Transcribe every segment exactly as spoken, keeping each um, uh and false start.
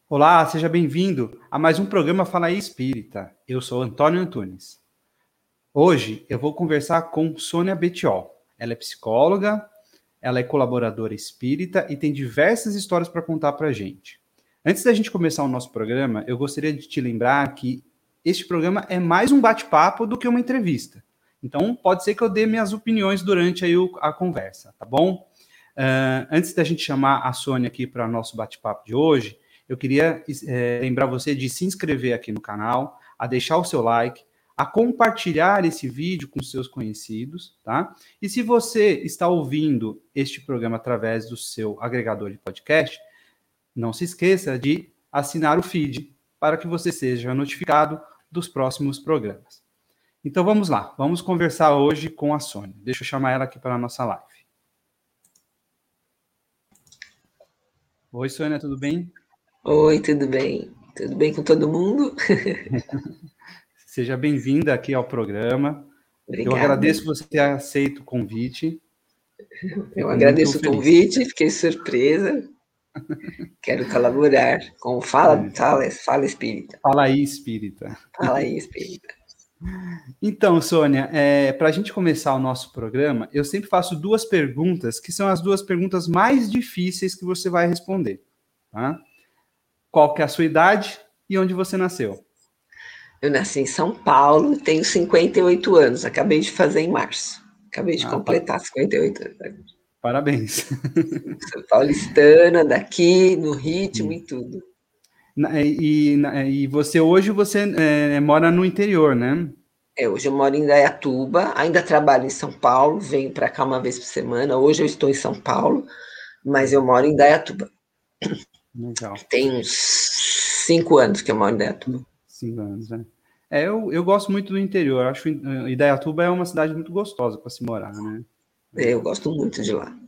Olá, seja bem-vindo a mais um programa Fala aí Espírita. Eu sou Antônio Antunes. Hoje eu vou conversar com Sônia Betiol. Ela é psicóloga, ela é colaboradora espírita e tem diversas histórias para contar para a gente. Antes da gente começar o nosso programa, eu gostaria de te lembrar que este programa é mais um bate-papo do que uma entrevista. Então, pode ser que eu dê minhas opiniões durante aí a conversa, tá bom? Uh, antes da gente chamar a Sônia aqui para o nosso bate-papo de hoje, eu queria é, lembrar você de se inscrever aqui no canal, a deixar o seu like, a compartilhar esse vídeo com seus conhecidos, tá? E se você está ouvindo este programa através do seu agregador de podcast, não se esqueça de assinar o feed para que você seja notificado dos próximos programas. Então vamos lá, vamos conversar hoje com a Sônia. Deixa eu chamar ela aqui para a nossa live. Oi, Sônia, tudo bem? Oi, tudo bem? Tudo bem com todo mundo? Seja bem-vinda aqui ao programa. Obrigada. Eu agradeço você ter aceito o convite. Eu Fico agradeço o feliz. convite, fiquei surpresa. Quero colaborar com o Fala, É. Fala, Fala Espírita. Fala aí, Espírita. Fala aí, Espírita. Então, Sônia, é, para a gente começar o nosso programa, eu sempre faço duas perguntas, que são as duas perguntas mais difíceis que você vai responder. Tá? Qual que é a sua idade e onde você nasceu? Eu nasci em São Paulo, tenho cinquenta e oito anos, acabei de fazer em março. Acabei de Ah, completar cinquenta e oito anos. Parabéns. Sou paulistana, daqui, no ritmo e tudo. E, e, e você hoje você é, mora no interior, né? É, hoje eu moro em Indaiatuba, ainda trabalho em São Paulo, venho para cá uma vez por semana. Hoje eu estou em São Paulo, mas eu moro em Indaiatuba. Legal. Tem uns cinco anos que eu moro em Indaiatuba. Cinco anos, né? É, eu, eu gosto muito do interior. Acho que Indaiatuba é uma cidade muito gostosa para se morar, né? É, eu gosto muito de lá.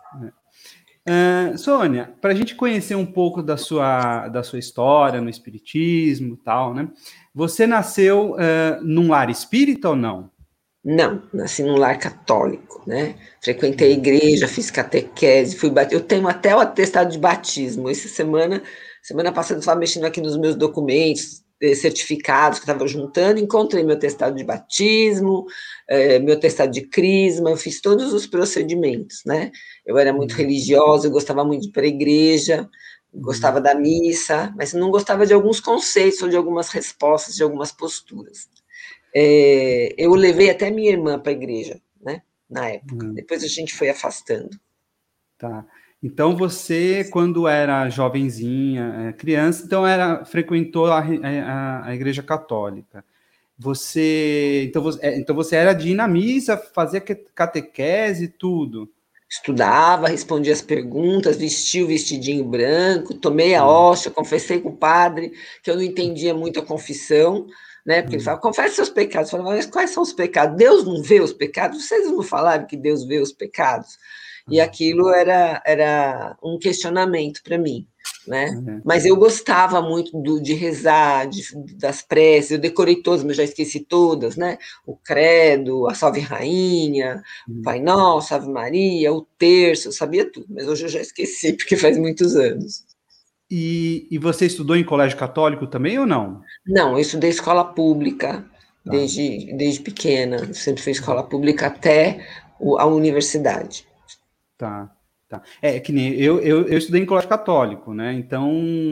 É. Uh, Sônia, para a gente conhecer um pouco da sua, da sua história no espiritismo e tal, né? Você nasceu uh, num lar espírita ou não? Não, nasci num lar católico, né? Frequentei a igreja, fiz catequese, fui bat... Eu tenho até o atestado de batismo. Essa semana, semana passada, eu estava mexendo aqui nos meus documentos, certificados que eu estava juntando, encontrei meu atestado de batismo, eh, meu atestado de crisma, eu fiz todos os procedimentos, né? Eu era muito religiosa, eu gostava muito de ir para a igreja, gostava da missa, mas não gostava de alguns conceitos ou de algumas respostas, de algumas posturas. É, eu levei até minha irmã para a igreja, né? Na época. Uhum. Depois a gente foi afastando. Tá. Então você, quando era jovenzinha, criança, então era frequentou a, a, a igreja católica. Você então, você, então você era de ir na missa, fazia catequese e tudo. Estudava, respondia as perguntas, vestia o vestidinho branco, tomei a hóstia, confessei com o padre, que eu não entendia muito a confissão, né? Porque ele falava, confesse seus pecados. Eu falava, mas quais são os pecados? Deus não vê os pecados? Vocês não falaram que Deus vê os pecados? E aquilo era, era um questionamento para mim, né? Uhum. Mas eu gostava muito do, de rezar, de, das preces, eu decorei todas, mas já esqueci todas, né? O Credo, a Salve Rainha, uhum. o Pai Nosso, Ave Maria, o Terço, eu sabia tudo, mas hoje eu já esqueci, porque faz muitos anos. E, e você estudou em colégio católico também ou não? Não, eu estudei escola pública, tá. desde, desde pequena, sempre fui escola pública até a universidade. Tá, tá. É que nem eu, eu, eu estudei em colégio católico, né? Então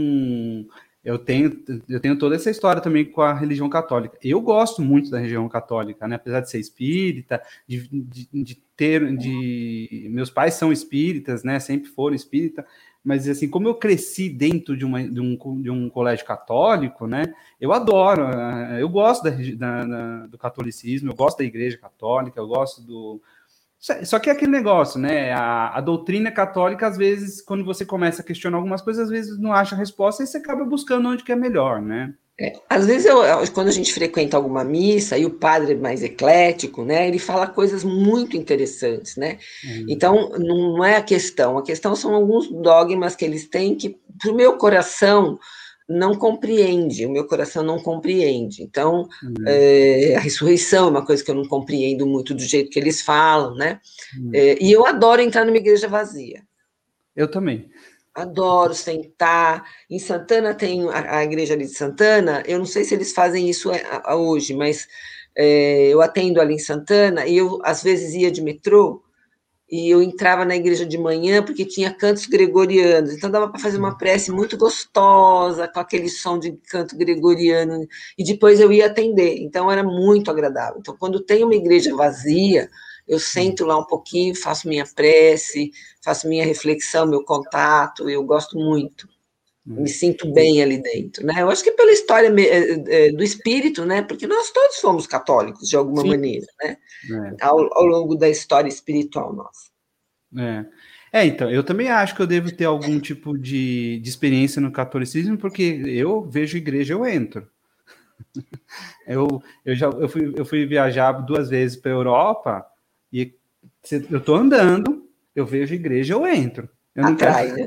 eu tenho, eu tenho toda essa história também com a religião católica. Eu gosto muito da religião católica, né? Apesar de ser espírita, de, de, de ter, de meus pais são espíritas, né? Sempre foram espírita, mas assim, como eu cresci dentro de, uma, de, um, de um colégio católico, né? Eu adoro, eu gosto da, da, da, do catolicismo, eu gosto da igreja católica, eu gosto do Só que é aquele negócio, né? A, a doutrina católica, às vezes, quando você começa a questionar algumas coisas, às vezes não acha a resposta e você acaba buscando onde que é melhor, né? É, às vezes, eu, quando a gente frequenta alguma missa e o padre é mais eclético, né? Ele fala coisas muito interessantes, né? Uhum. Então, não é a questão. A questão são alguns dogmas que eles têm que, para o meu coração, não compreende, o meu coração não compreende. Então, uhum. é, a ressurreição é uma coisa que eu não compreendo muito do jeito que eles falam, né? Uhum. É, e eu adoro entrar numa igreja vazia. Eu também. Adoro sentar. Em Santana tem a, a igreja ali de Santana. Eu não sei se eles fazem isso a, a hoje, mas é, eu atendo ali em Santana e eu às vezes ia de metrô e eu entrava na igreja de manhã porque tinha cantos gregorianos. Então dava para fazer uma prece muito gostosa com aquele som de canto gregoriano e depois eu ia atender. Então era muito agradável. Então quando tem uma igreja vazia, eu sento lá um pouquinho, faço minha prece, faço minha reflexão, meu contato, eu gosto muito, me sinto bem ali dentro, né? Eu acho que pela história do espírito, né? Porque nós todos fomos católicos, de alguma Sim. maneira, né? É. Ao, ao longo da história espiritual nossa. É. é, então, eu também acho que eu devo ter algum tipo de, de experiência no catolicismo, porque eu vejo igreja, eu entro. Eu, eu já eu fui, eu fui viajar duas vezes para a Europa e eu tô andando, eu vejo igreja, eu entro. Eu não Atrai, quero... né?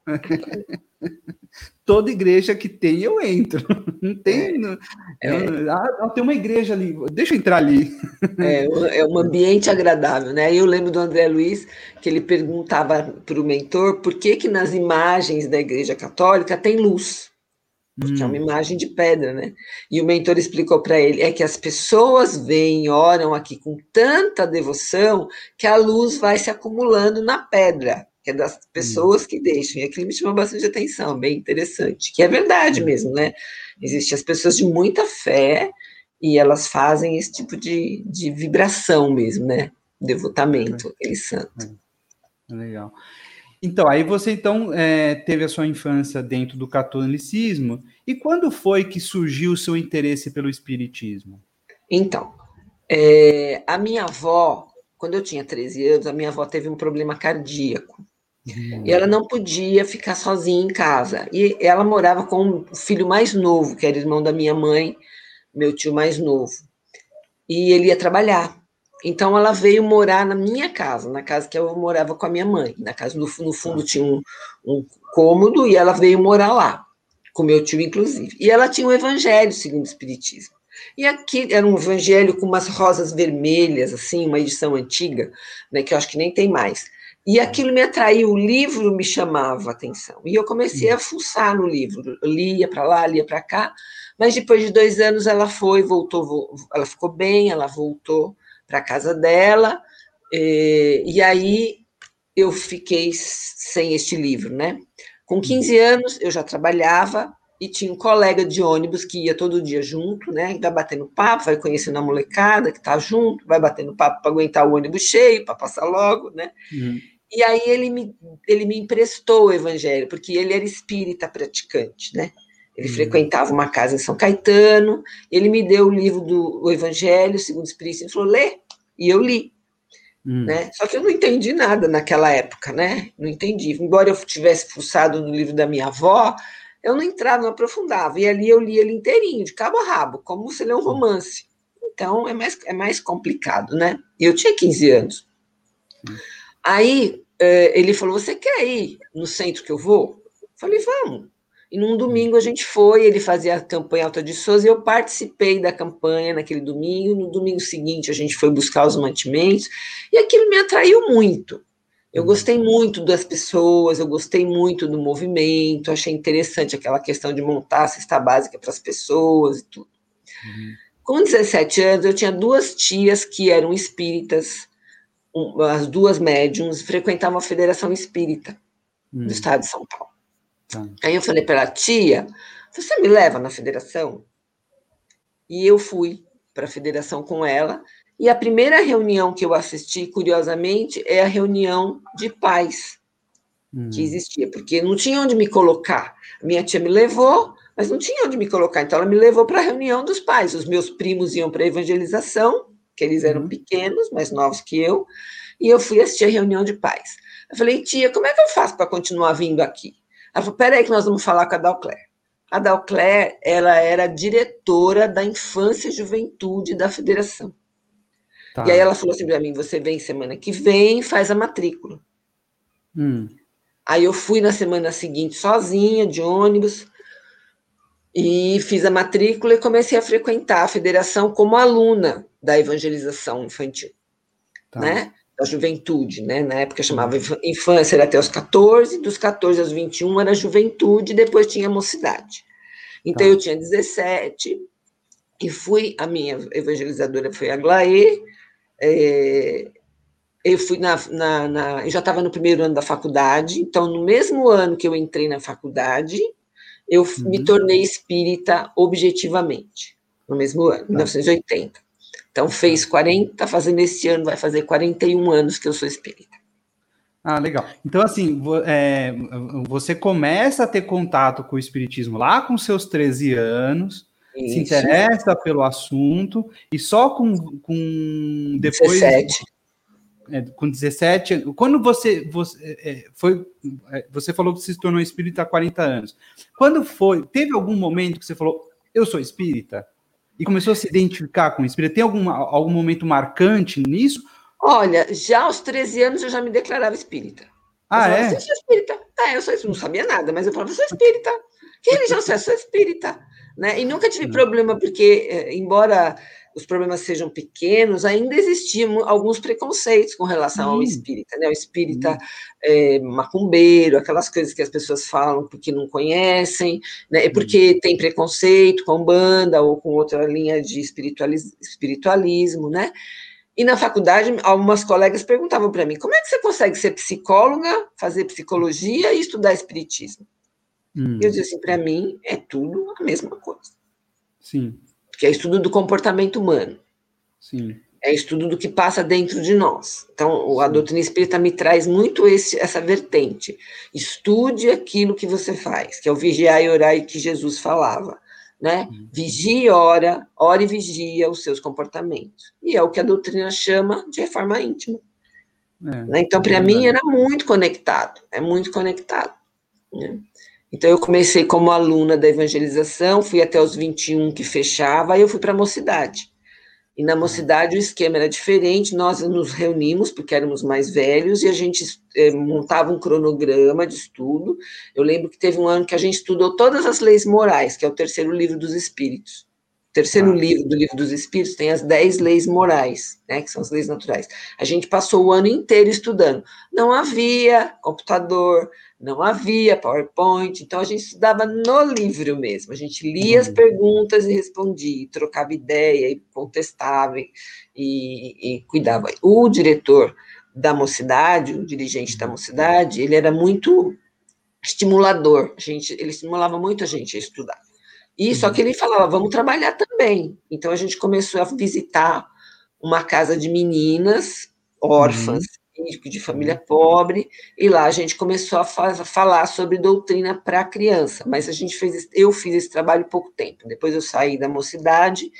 Toda igreja que tem, eu entro. Não tem. É, não, eu, é, ah, tem uma igreja ali, deixa eu entrar ali. é, é um ambiente agradável, né? Eu lembro do André Luiz que ele perguntava para o mentor por que que nas imagens da Igreja Católica tem luz. Porque é uma Hum, imagem de pedra, né? E o mentor explicou para ele, é que as pessoas vêm, oram aqui com tanta devoção que a luz vai se acumulando na pedra, que é das hum, pessoas que deixam. E aquilo me chamou bastante atenção, bem interessante, que é verdade hum, mesmo, né? Existem as pessoas de muita fé e elas fazem esse tipo de, de vibração mesmo, né? Devotamento, aquele santo. é, legal. Então, aí você então é, teve a sua infância dentro do catolicismo, e quando foi que surgiu o seu interesse pelo espiritismo? Então, é, a minha avó, quando eu tinha treze anos, a minha avó teve um problema cardíaco. E ela Hum, não podia ficar sozinha em casa. E ela morava com o filho mais novo, que era irmão da minha mãe, meu tio mais novo. E ele ia trabalhar. Então ela veio morar na minha casa, na casa que eu morava com a minha mãe. Na casa no, no fundo tá. tinha um, um cômodo e ela veio morar lá, com meu tio inclusive. E ela tinha o Evangelho segundo o Espiritismo. E aqui era um evangelho com umas rosas vermelhas, assim, uma edição antiga, né, que eu acho que nem tem mais. E aquilo me atraiu, o livro me chamava a atenção. E eu comecei a fuçar no livro, eu lia para lá, lia para cá, mas depois de dois anos ela foi, voltou, ela ficou bem, ela voltou para a casa dela, e, e aí eu fiquei sem este livro, né? Com quinze anos eu já trabalhava e tinha um colega de ônibus que ia todo dia junto, né? Vai batendo papo, vai conhecendo a molecada que está junto, vai batendo papo para aguentar o ônibus cheio, para passar logo, né? Hum, E aí ele me, ele me emprestou o evangelho, porque ele era espírita praticante, né? Ele hum, frequentava uma casa em São Caetano, ele me deu o livro do o Evangelho segundo o Espiritismo e falou, lê, e eu li. hum, Né? Só que eu não entendi nada naquela época, né? Não entendi. Embora eu tivesse fuçado no livro da minha avó, eu não entrava, não aprofundava. E ali eu li ele inteirinho, de cabo a rabo, como você lê um romance. Então é mais, é mais complicado, né? E eu tinha quinze anos. Aí ele falou: Você quer ir no centro que eu vou? Eu falei: Vamos. E num domingo a gente foi, ele fazia a campanha Alta de Souza e eu participei da campanha naquele domingo. No domingo seguinte a gente foi buscar os mantimentos e aquilo me atraiu muito. Eu hum, gostei muito das pessoas, eu gostei muito do movimento, achei interessante aquela questão de montar a cesta básica para as pessoas e tudo. hum, Com dezessete anos, eu tinha duas tias que eram espíritas, um, as duas médiums, frequentavam a Federação Espírita do hum, Estado de São Paulo. tá. Aí eu falei para ela, tia, você me leva na federação? E eu fui para a federação com ela. E a primeira reunião que eu assisti, curiosamente, é a reunião de pais que Hum, existia, porque não tinha onde me colocar. A minha tia me levou, mas não tinha onde me colocar. Então ela me levou para a reunião dos pais. Os meus primos iam para a evangelização, que eles eram uhum, pequenos, mais novos que eu, e eu fui assistir a reunião de pais. Eu falei, tia, como é que eu faço para continuar vindo aqui? Ela falou, peraí que nós vamos falar com a Dalcler. A Dalcler, ela era diretora da infância e juventude da federação. E aí tá. ela falou assim para mim, você vem semana que vem, faz a matrícula. Hum, Aí eu fui na semana seguinte sozinha, de ônibus, e fiz a matrícula e comecei a frequentar a federação como aluna da evangelização infantil, tá. né? da juventude, né? Na época chamava infância, era até os catorze, dos catorze aos vinte e um era juventude, depois tinha mocidade. Então, tá. Eu tinha dezessete, e fui, a minha evangelizadora foi a Glaê, é, eu fui na, na, na eu já estava no primeiro ano da faculdade, então, no mesmo ano que eu entrei na faculdade, eu uhum. me tornei espírita objetivamente, no mesmo ano, tá. mil novecentos e oitenta. Então, fez quarenta, fazendo esse ano, vai fazer quarenta e um anos que eu sou espírita. Ah, legal. Então, assim, é, você começa a ter contato com o espiritismo lá com seus treze anos, isso. Se interessa pelo assunto, e só com, com depois... dezessete. É, com dezessete, quando você, você é, foi, é, você falou que se tornou espírita há quarenta anos. Quando foi, teve algum momento que você falou, eu sou espírita? E começou a se identificar com o espírita? Tem algum, algum momento marcante nisso? Olha, já aos treze anos eu já me declarava espírita. Ah, eu falava, é? Eu sou espírita. É, eu sou, não sabia nada, mas eu falava, eu sou espírita. Que religião você é? Eu sou espírita. Né? E nunca tive não. problema, porque, embora os problemas sejam pequenos, ainda existiam alguns preconceitos com relação Sim. ao espírita. Né? O espírita é, macumbeiro, aquelas coisas que as pessoas falam porque não conhecem, né? Porque tem preconceito com Umbanda ou com outra linha de espiritualis- espiritualismo, né? E na faculdade, algumas colegas perguntavam para mim, como é que você consegue ser psicóloga, fazer psicologia e estudar espiritismo? Hum. Eu dizia assim, para mim é tudo a mesma coisa. Sim. Que é estudo do comportamento humano. Sim. É estudo do que passa dentro de nós. Então, a Sim. doutrina espírita me traz muito esse, essa vertente. Estude aquilo que você faz, que é o vigiar e orar que Jesus falava. Né? Uhum. Vigia e ora, ora e vigia os seus comportamentos. E é o que a doutrina chama de reforma íntima. É, né? Então, para é mim, era muito conectado. É muito conectado. Né? Então, eu comecei como aluna da evangelização, fui até os vinte e um que fechava, aí eu fui para a mocidade. E na mocidade o esquema era diferente, nós nos reunimos, porque éramos mais velhos, e a gente eh, montava um cronograma de estudo. Eu lembro que teve um ano que a gente estudou todas as leis morais, que é o terceiro livro dos Espíritos. O terceiro ah. livro do livro dos Espíritos tem as dez leis morais, né, que são as leis naturais. A gente passou o ano inteiro estudando. Não havia computador, não havia PowerPoint, então a gente estudava no livro mesmo, a gente lia uhum. as perguntas e respondia, trocava ideia e contestava e, e, e cuidava. O diretor da mocidade, o dirigente da mocidade, ele era muito estimulador, a gente, ele estimulava muito a gente a estudar. E uhum. só que ele falava, vamos trabalhar também. Então a gente começou a visitar uma casa de meninas órfãs, uhum. de família pobre, e lá a gente começou a fa- falar sobre doutrina para a criança, mas a gente fez, eu fiz esse trabalho pouco tempo, depois eu saí da mocidade,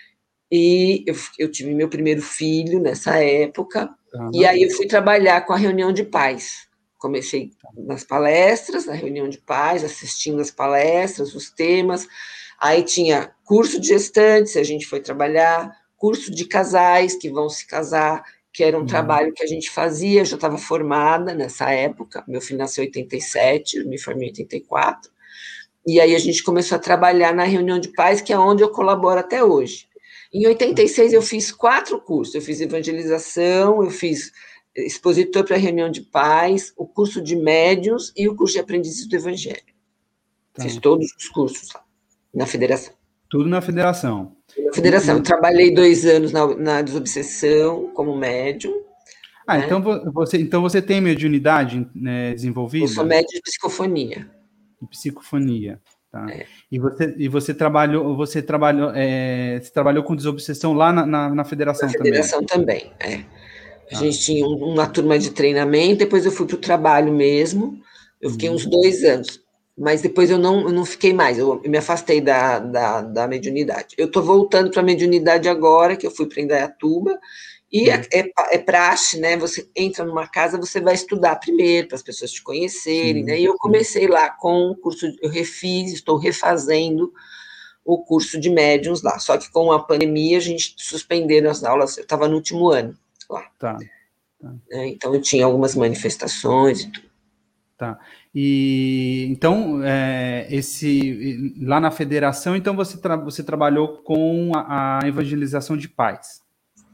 e eu, eu tive meu primeiro filho nessa época, uhum. e aí eu fui trabalhar com a reunião de pais, comecei nas palestras, na reunião de pais, assistindo as palestras, os temas, aí tinha curso de gestantes, a gente foi trabalhar, curso de casais que vão se casar, que era um uhum. trabalho que a gente fazia, eu já estava formada nessa época, meu filho nasceu em oitenta e sete, eu me formei em oitenta e quatro, e aí a gente começou a trabalhar na reunião de pais, que é onde eu colaboro até hoje. Em oitenta e seis eu fiz quatro cursos, eu fiz evangelização, eu fiz expositor para reunião de pais, o curso de médiuns e o curso de aprendizes do evangelho. Tá. Fiz todos os cursos lá, na federação. Tudo na federação. Na federação. E... Eu trabalhei dois anos na, na desobsessão como médium. Ah, né? então você, então você tem mediunidade, né, desenvolvida? Eu sou médium de psicofonia. De psicofonia, tá. É. E você, e você trabalhou, você trabalhou, é, você trabalhou com desobsessão lá na, na, na federação também? Na federação também, também é. A ah. gente tinha uma turma de treinamento, depois eu fui para o trabalho mesmo, eu fiquei hum. uns dois anos, mas depois eu não, eu não fiquei mais, eu me afastei da, da, da mediunidade. Eu estou voltando para a mediunidade agora, que eu fui para Indaiatuba, e hum. é, é, é praxe, né? Você entra numa casa, você vai estudar primeiro, para as pessoas te conhecerem, sim, né? E eu comecei sim. lá com o curso, eu refiz, estou refazendo o curso de médiuns lá, só que com a pandemia a gente suspenderam as aulas, eu estava no último ano. Lá. Tá, tá. É, então eu tinha algumas manifestações e tudo. Tá. E então é, esse lá na federação, então você, tra- você trabalhou com a, a evangelização de pais.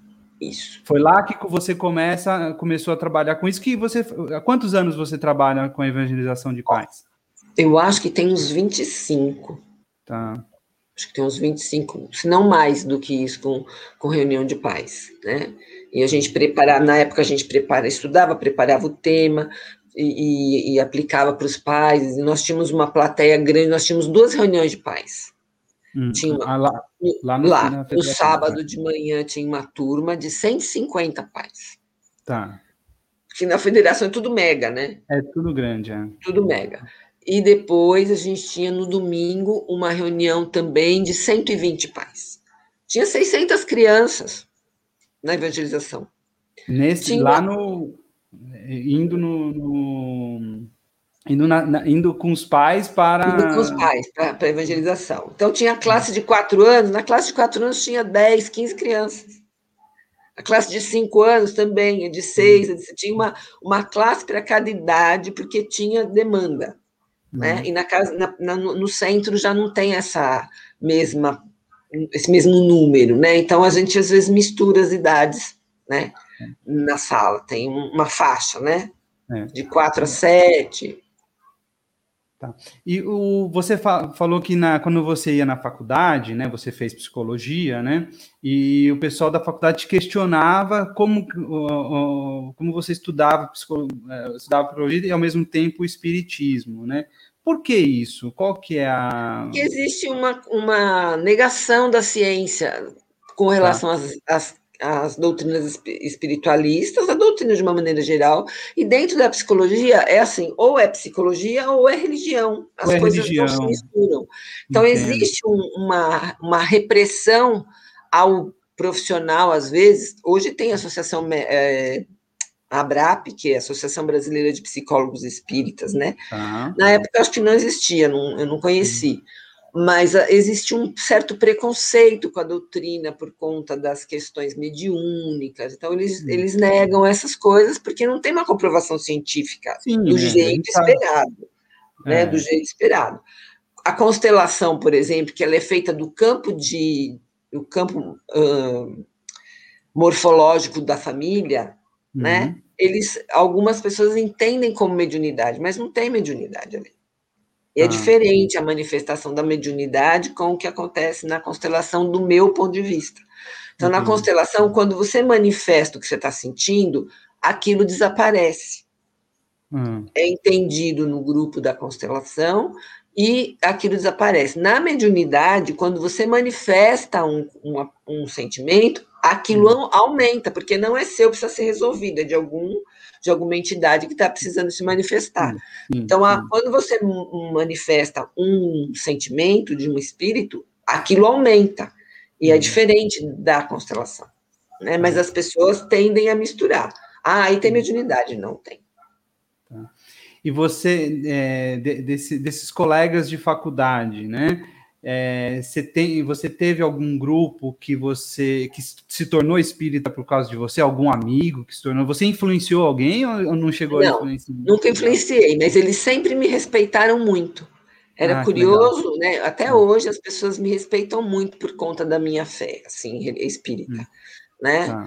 Isso. Foi lá que você começa, começou a trabalhar com isso. Que você, há quantos anos você trabalha com a evangelização de pais? Eu acho que tem uns vinte e cinco. Tá. Acho que tem uns vinte e cinco, se não mais do que isso, com, com reunião de pais, né? E a gente preparava, na época a gente prepara, estudava, preparava o tema e, e, e aplicava para os pais. E nós tínhamos uma plateia grande, nós tínhamos duas reuniões de pais. Hum, tinha uma, ah, lá, lá, no, lá na no federação, sábado tá. de manhã tinha uma turma de cento e cinquenta pais. Tá. Porque na federação é tudo mega, né? É tudo grande, é. Tudo mega. E depois a gente tinha no domingo uma reunião também de cento e vinte pais. Tinha seiscentas crianças na evangelização. Nesse, Tinha lá no. Indo no. no indo, na, na, indo com os pais para. Indo com os pais para a evangelização. Então tinha a classe de quatro anos, na classe de quatro anos tinha dez, quinze crianças. A classe de cinco anos também, a de seis, a de, tinha uma, uma classe para cada idade, porque tinha demanda. Uhum. Né? E na casa, na, na, no centro já não tem essa mesma, esse mesmo número, né? Então a gente às vezes mistura as idades, né? Na sala, tem uma faixa, né? É. De quatro a sete. Tá. E o, você fa falou que na, quando você ia na faculdade, né, você fez psicologia, né, e o pessoal da faculdade te questionava como, uh, como você estudava, psicolo, uh, estudava psicologia e, ao mesmo tempo, o espiritismo, né? Por que isso? Qual que é a... Porque existe uma, uma negação da ciência com relação tá. às, às as doutrinas espiritualistas, a doutrina de uma maneira geral, e dentro da psicologia é assim, ou é psicologia ou é religião, as ou é coisas religião. não se misturam. Então, Entendo. existe um, uma, uma repressão ao profissional, às vezes, hoje tem a associação é, a ABRAP, que é a Associação Brasileira de Psicólogos Espíritas, né? Tá. Na época, acho que não existia, não, eu não conheci, hum. Mas uh, existe um certo preconceito com a doutrina por conta das questões mediúnicas. Então, eles, hum. eles negam essas coisas porque não tem uma comprovação científica Sim, do é, jeito esperado. Né, é. Do jeito esperado. A constelação, por exemplo, que ela é feita do campo, de, do campo uh, morfológico da família, uhum. né? Eles, algumas pessoas entendem como mediunidade, mas não tem mediunidade ali. E é ah. diferente a manifestação da mediunidade com o que acontece na constelação, do meu ponto de vista. Então, uhum. na constelação, quando você manifesta o que você está sentindo, aquilo desaparece. Uhum. É entendido no grupo da constelação e aquilo desaparece. Na mediunidade, quando você manifesta um, um, um sentimento, aquilo uhum. aumenta, porque não é seu, precisa ser resolvido, é de algum... de alguma entidade que está precisando se manifestar. Sim, sim, então, a, quando você manifesta um sentimento de um espírito, aquilo aumenta, e hum. é diferente da constelação. Né? Mas as pessoas tendem a misturar. Ah, aí tem mediunidade. Não tem. Tá. E você, é, de, desse, desses colegas de faculdade, né? É, você, tem, você teve algum grupo que você que se tornou espírita por causa de você? Algum amigo que se tornou? Você influenciou alguém ou não chegou não, a influenciar? Nunca influenciei, mas eles sempre me respeitaram muito. Era ah, curioso, né? Até é. hoje as pessoas me respeitam muito por conta da minha fé, assim, espírita, hum. né? Ah.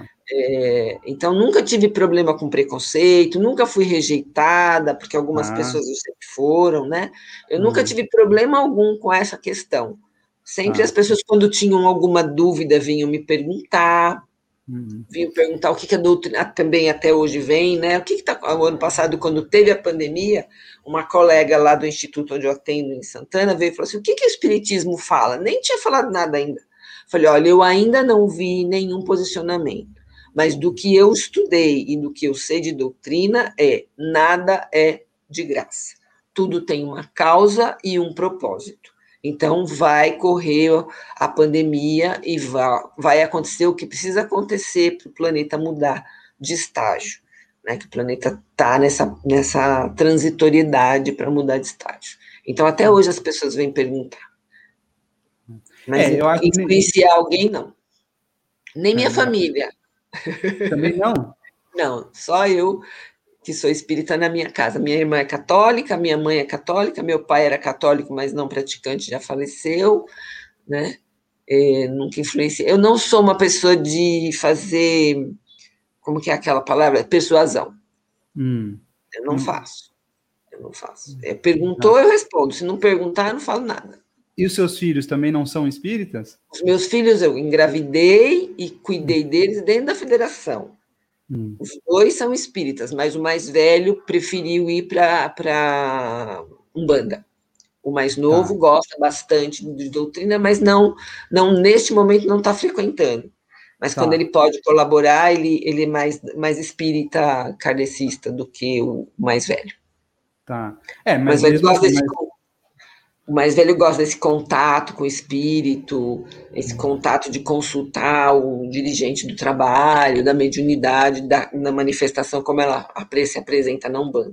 É, então, nunca tive problema com preconceito, nunca fui rejeitada, porque algumas ah. pessoas sempre foram, né? Eu ah. nunca tive problema algum com essa questão. Sempre ah. as pessoas, quando tinham alguma dúvida, vinham me perguntar, uhum. vinham perguntar o que, que a doutrina também até hoje vem, né? O que está. O ano passado, quando teve a pandemia, uma colega lá do instituto onde eu atendo em Santana veio e falou assim: o que, que o Espiritismo fala? Nem tinha falado nada ainda. Falei: olha, eu ainda não vi nenhum posicionamento. Mas do que eu estudei e do que eu sei de doutrina é nada é de graça. Tudo tem uma causa e um propósito. Então, vai correr a pandemia e vai, vai acontecer o que precisa acontecer para o planeta mudar de estágio. Né? Que o planeta está nessa, nessa transitoriedade para mudar de estágio. Então, até hoje as pessoas vêm perguntar. Mas é, eu acho influenciar que... alguém, não. Nem minha é, família. Também não? Não, só eu que sou espírita na minha casa. Minha irmã é católica, minha mãe é católica, meu pai era católico, mas não praticante, já faleceu, né? é, nunca influenciei. Eu não sou uma pessoa de fazer, como que é aquela palavra? Persuasão. Hum. Eu não Hum. faço. Eu não faço. É, perguntou, eu respondo. Se não perguntar, eu não falo nada. E os seus filhos também não são espíritas? Os meus filhos, eu engravidei e cuidei deles dentro da federação. Hum. Os dois são espíritas, mas o mais velho preferiu ir para Umbanda. O mais novo Tá. gosta bastante de doutrina, mas não, não neste momento não está frequentando. Mas Tá. quando ele pode colaborar, ele, ele é mais, mais espírita kardecista do que o mais velho. Tá. É, Mas mas ele mesmo gosta assim, desse, mas... o mais velho gosta desse contato com o espírito, esse contato de consultar o dirigente do trabalho, da mediunidade, da, da manifestação, como ela se apresenta na Umbanda.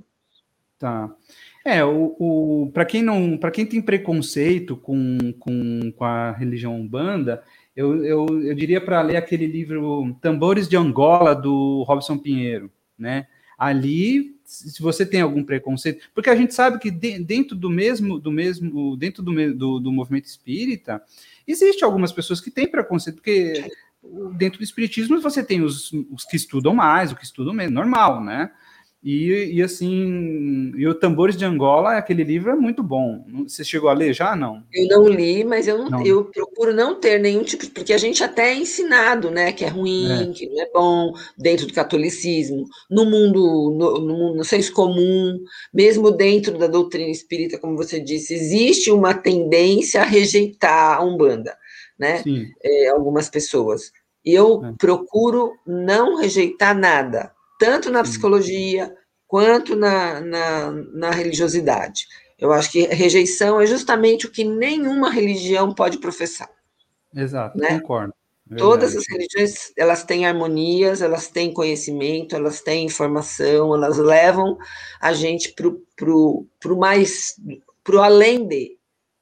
Tá. É, o, o, para quem não, para quem tem preconceito com, com, com a religião Umbanda, eu, eu, eu diria para ler aquele livro Tambores de Angola, do Robson Pinheiro, né? Ali, se você tem algum preconceito, porque a gente sabe que de, dentro do mesmo, do mesmo, dentro do, do, do movimento espírita, existe algumas pessoas que têm preconceito, porque dentro do espiritismo você tem os, os que estudam mais, os que estudam menos, normal, né? E, e assim, e o Tambores de Angola, aquele livro é muito bom. Você chegou a ler já? Não. Eu não li, mas eu, não, Não. eu procuro não ter nenhum tipo, porque a gente até é ensinado, né, que é ruim, É. que não é bom, dentro do catolicismo, no mundo, no, no, no senso comum, mesmo dentro da doutrina espírita, como você disse, existe uma tendência a rejeitar a Umbanda, né, é, algumas pessoas. E eu É. procuro não rejeitar nada, tanto na Sim. psicologia quanto na, na, na religiosidade. Eu acho que rejeição é justamente o que nenhuma religião pode professar. Exato, Né? concordo. É Todas verdade. as religiões, elas têm harmonias, elas têm conhecimento, elas têm informação, elas levam a gente para o pro, pro mais, para o além de,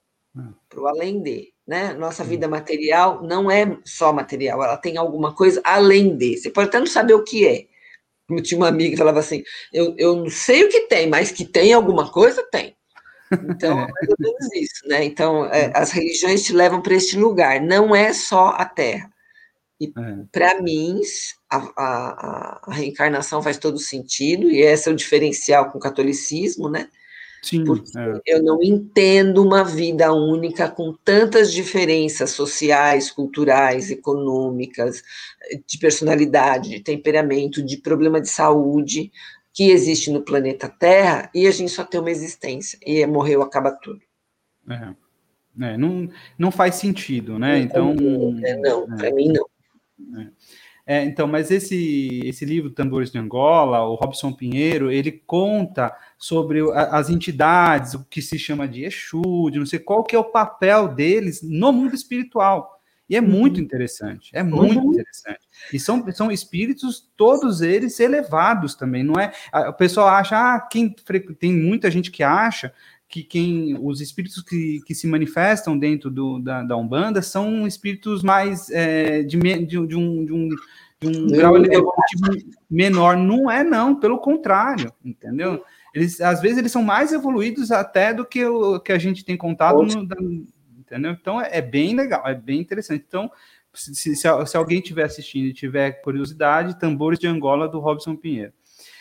para o além de, né? Nossa vida material não é só material, ela tem alguma coisa além de. Você pode até não saber o que é. Como tinha uma amiga que falava assim, eu, eu não sei o que tem, mas que tem alguma coisa, tem. Então, é mais ou menos isso, né? Então, é, as religiões te levam para este lugar, não é só a Terra. E, É. para mim, a, a, a reencarnação faz todo sentido, e esse é o diferencial com o catolicismo, né? Sim, Porque é. eu não entendo uma vida única com tantas diferenças sociais, culturais, econômicas, de personalidade, de temperamento, de problema de saúde, que existe no planeta Terra, e a gente só tem uma existência, e morreu, acaba tudo. É. É, não, não faz sentido, né? Então, não, é, para mim não. É. É, então, mas esse, esse livro, Tambores de Angola, o Robson Pinheiro, ele conta sobre a, as entidades, o que se chama de Exu, de não sei qual que é o papel deles no mundo espiritual. E é muito Uhum. interessante, é muito Uhum. interessante. E são, são espíritos, todos eles elevados também, não é? O pessoal acha, ah, quem, tem muita gente que acha que quem, os espíritos que, que se manifestam dentro do, da, da Umbanda são espíritos mais é, de, de, de um, de um, de um grau evolutivo menor. Não é, não, pelo contrário, entendeu? Eles, às vezes eles são mais evoluídos até do que o que a gente tem contato, no, da, entendeu? Então é, é bem legal, é bem interessante. Então, se, se, se alguém estiver assistindo e tiver curiosidade, Tambores de Angola, do Robson Pinheiro.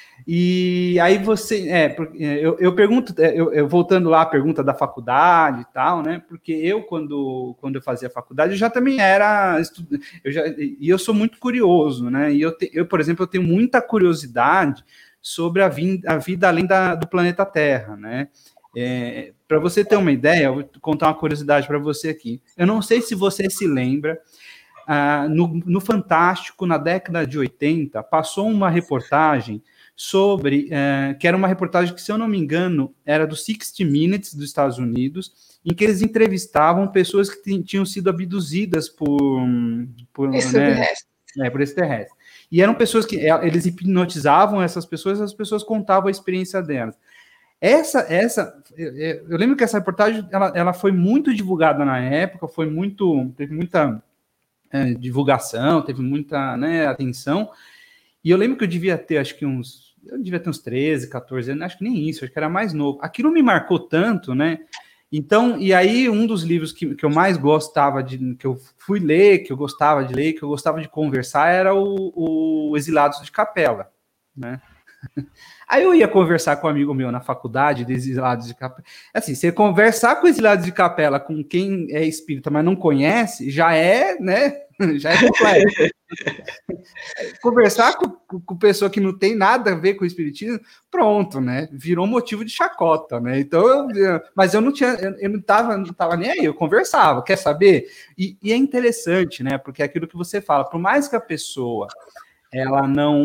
E aí você, é, eu, eu pergunto, eu, eu voltando lá à pergunta da faculdade e tal, né? Porque eu, quando, quando eu fazia faculdade, eu já também era estudante, eu já, e eu sou muito curioso, né? E eu, te, eu, por exemplo, eu tenho muita curiosidade sobre a, vin, a vida além da, do planeta Terra, né? É, para você ter uma ideia, eu vou contar uma curiosidade para você aqui. Eu não sei se você se lembra, ah, no, no Fantástico, na década de oitenta, passou uma reportagem sobre, é, que era uma reportagem que, se eu não me engano, era do sixty minutes dos Estados Unidos, em que eles entrevistavam pessoas que tinham sido abduzidas por, por, né, é, por extraterrestres. E eram pessoas que eles hipnotizavam essas pessoas, as pessoas contavam a experiência delas. Essa, essa, eu, eu lembro que essa reportagem ela, ela foi muito divulgada na época, foi muito, teve muita é, divulgação, teve muita, né, atenção. E eu lembro que eu devia ter, acho que uns eu devia ter uns treze, quatorze anos, acho que nem isso, acho que era mais novo. Aquilo me marcou tanto, né, Então, e aí um dos livros que, que eu mais gostava de, que eu fui ler, que eu gostava de ler, que eu gostava de conversar, era o, o Exilados de Capela, né? Aí eu ia conversar com um amigo meu na faculdade de Exilados de Capela. Assim, você conversar com Exilados de Capela com quem é espírita, mas não conhece, já é, né? Já é complexo. Conversar com, com pessoa que não tem nada a ver com o espiritismo, pronto, né? Virou motivo de chacota, né? Então, eu, mas eu não tinha, eu, eu não tava, não tava nem aí, eu conversava, quer saber? E, e é interessante, né? Porque é aquilo que você fala, por mais que a pessoa ela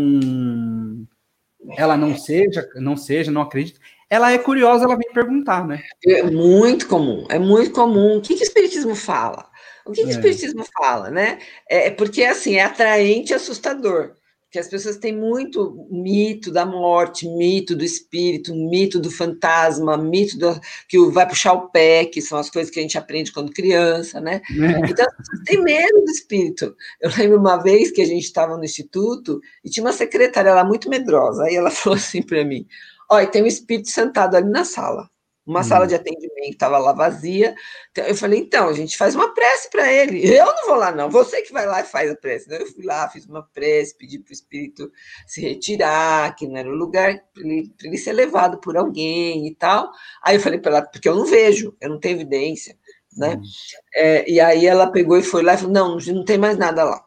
não ela não seja, não seja, não acredita, ela é curiosa, ela vem perguntar, né? É muito comum, é muito comum. O que que o espiritismo fala? O que que o É, espiritismo fala, né? É é porque, assim, é atraente e assustador, porque as pessoas têm muito mito da morte, mito do espírito, mito do fantasma, mito do que o vai puxar o pé, que são as coisas que a gente aprende quando criança, né. né? Então as pessoas têm medo do espírito. Eu lembro uma vez que a gente estava no instituto e tinha uma secretária lá muito medrosa, aí ela falou assim para mim: "Olha, tem um espírito sentado ali na sala". Uma sala Hum, de atendimento estava lá vazia. Então, eu falei, então, a gente faz uma prece para ele. Eu não vou lá, não. Você que vai lá e faz a prece. Então, eu fui lá, fiz uma prece, pedi para o espírito se retirar, que não era o lugar para ele, ele ser levado por alguém e tal. Aí eu falei para ela, porque eu não vejo, eu não tenho evidência, né? hum, É, e aí ela pegou e foi lá e falou, não, não tem mais nada lá.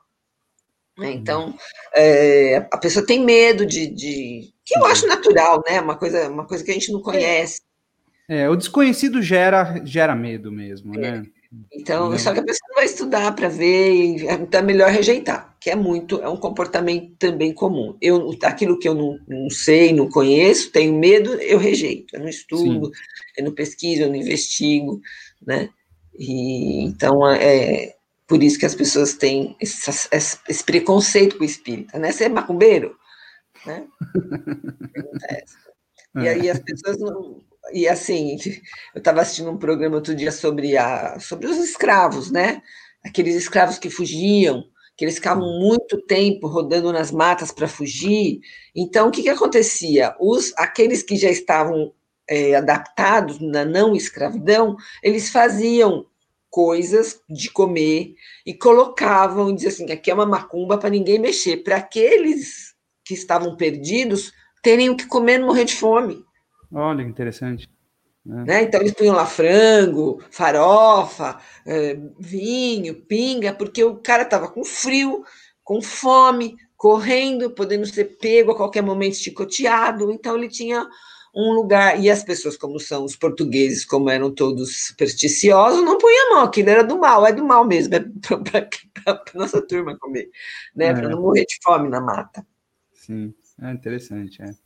hum. Então, é, a pessoa tem medo de, de, que eu acho De- natural, né? Uma coisa, uma coisa que a gente não conhece. É, o desconhecido gera, gera medo mesmo, né? Então, só Entendeu? que a pessoa não vai estudar para ver, e então é melhor rejeitar, que é muito, é um comportamento também comum. Eu, aquilo que eu não, não sei, não conheço, tenho medo, eu rejeito. Eu não estudo, Sim. eu não pesquiso, eu não investigo, né? E, então, é por isso que as pessoas têm esse, esse preconceito com o espírita, né? Você é macumbeiro, né? Pergunta essa. E aí as É. pessoas não. E assim, eu estava assistindo um programa outro dia sobre, a, sobre os escravos, né? Aqueles escravos que fugiam, que eles ficavam muito tempo rodando nas matas para fugir. Então, o que, que acontecia? Os, aqueles que já estavam é, adaptados na não escravidão, eles faziam coisas de comer e colocavam, diziam assim, aqui é uma macumba para ninguém mexer, para aqueles que estavam perdidos terem o que comer e não morrer de fome. Olha que interessante. Né? Né? Então, eles punham lá frango, farofa, eh, vinho, pinga, porque o cara estava com frio, com fome, correndo, podendo ser pego a qualquer momento, chicoteado. Então, ele tinha um lugar. E as pessoas, como são os portugueses, como eram todos supersticiosos, não punham a mão, aquilo era do mal, é do mal mesmo, é para a nossa turma comer, né? Para É, não morrer de fome na mata. sim, é interessante. É.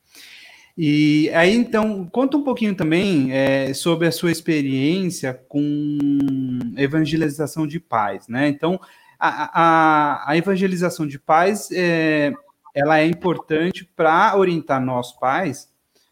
E aí, então, conta um pouquinho também é, sobre a sua experiência com evangelização de pais, né? Então, a, a, a evangelização de pais, é, ela é importante para orientar nós pais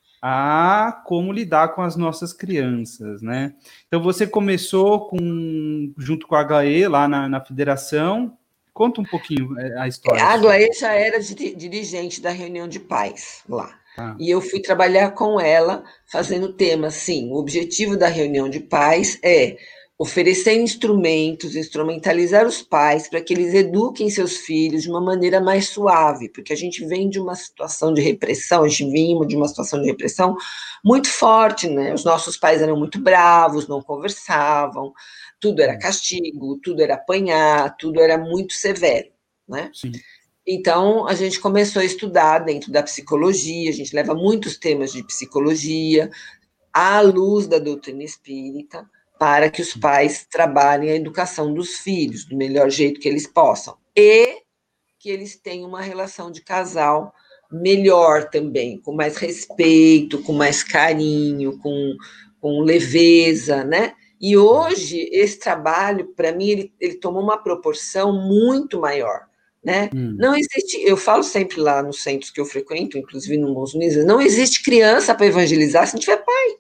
a como lidar com as nossas crianças, né? Então, você começou com, junto com a H E lá na, na federação. Conta um pouquinho é, a história A sua. Aglaê já era dirigente da reunião de pais lá. Tá. E eu fui trabalhar com ela fazendo temas. Sim, o objetivo da reunião de pais é oferecer instrumentos, instrumentalizar os pais para que eles eduquem seus filhos de uma maneira mais suave, porque a gente vem de uma situação de repressão, a gente vinha de uma situação de repressão muito forte, né? Os nossos pais eram muito bravos, não conversavam, tudo era castigo, tudo era apanhar, tudo era muito severo, né? Sim. Então, a gente começou a estudar dentro da psicologia, a gente leva muitos temas de psicologia à luz da doutrina espírita, para que os pais trabalhem a educação dos filhos do melhor jeito que eles possam. E que eles tenham uma relação de casal melhor também, com mais respeito, com mais carinho, com, com leveza, né? E hoje, esse trabalho, para mim, ele, ele tomou uma proporção muito maior, né? Hum, Não existe, eu falo sempre lá nos centros que eu frequento, inclusive no Bons Unidos, não existe criança para evangelizar se não tiver pai.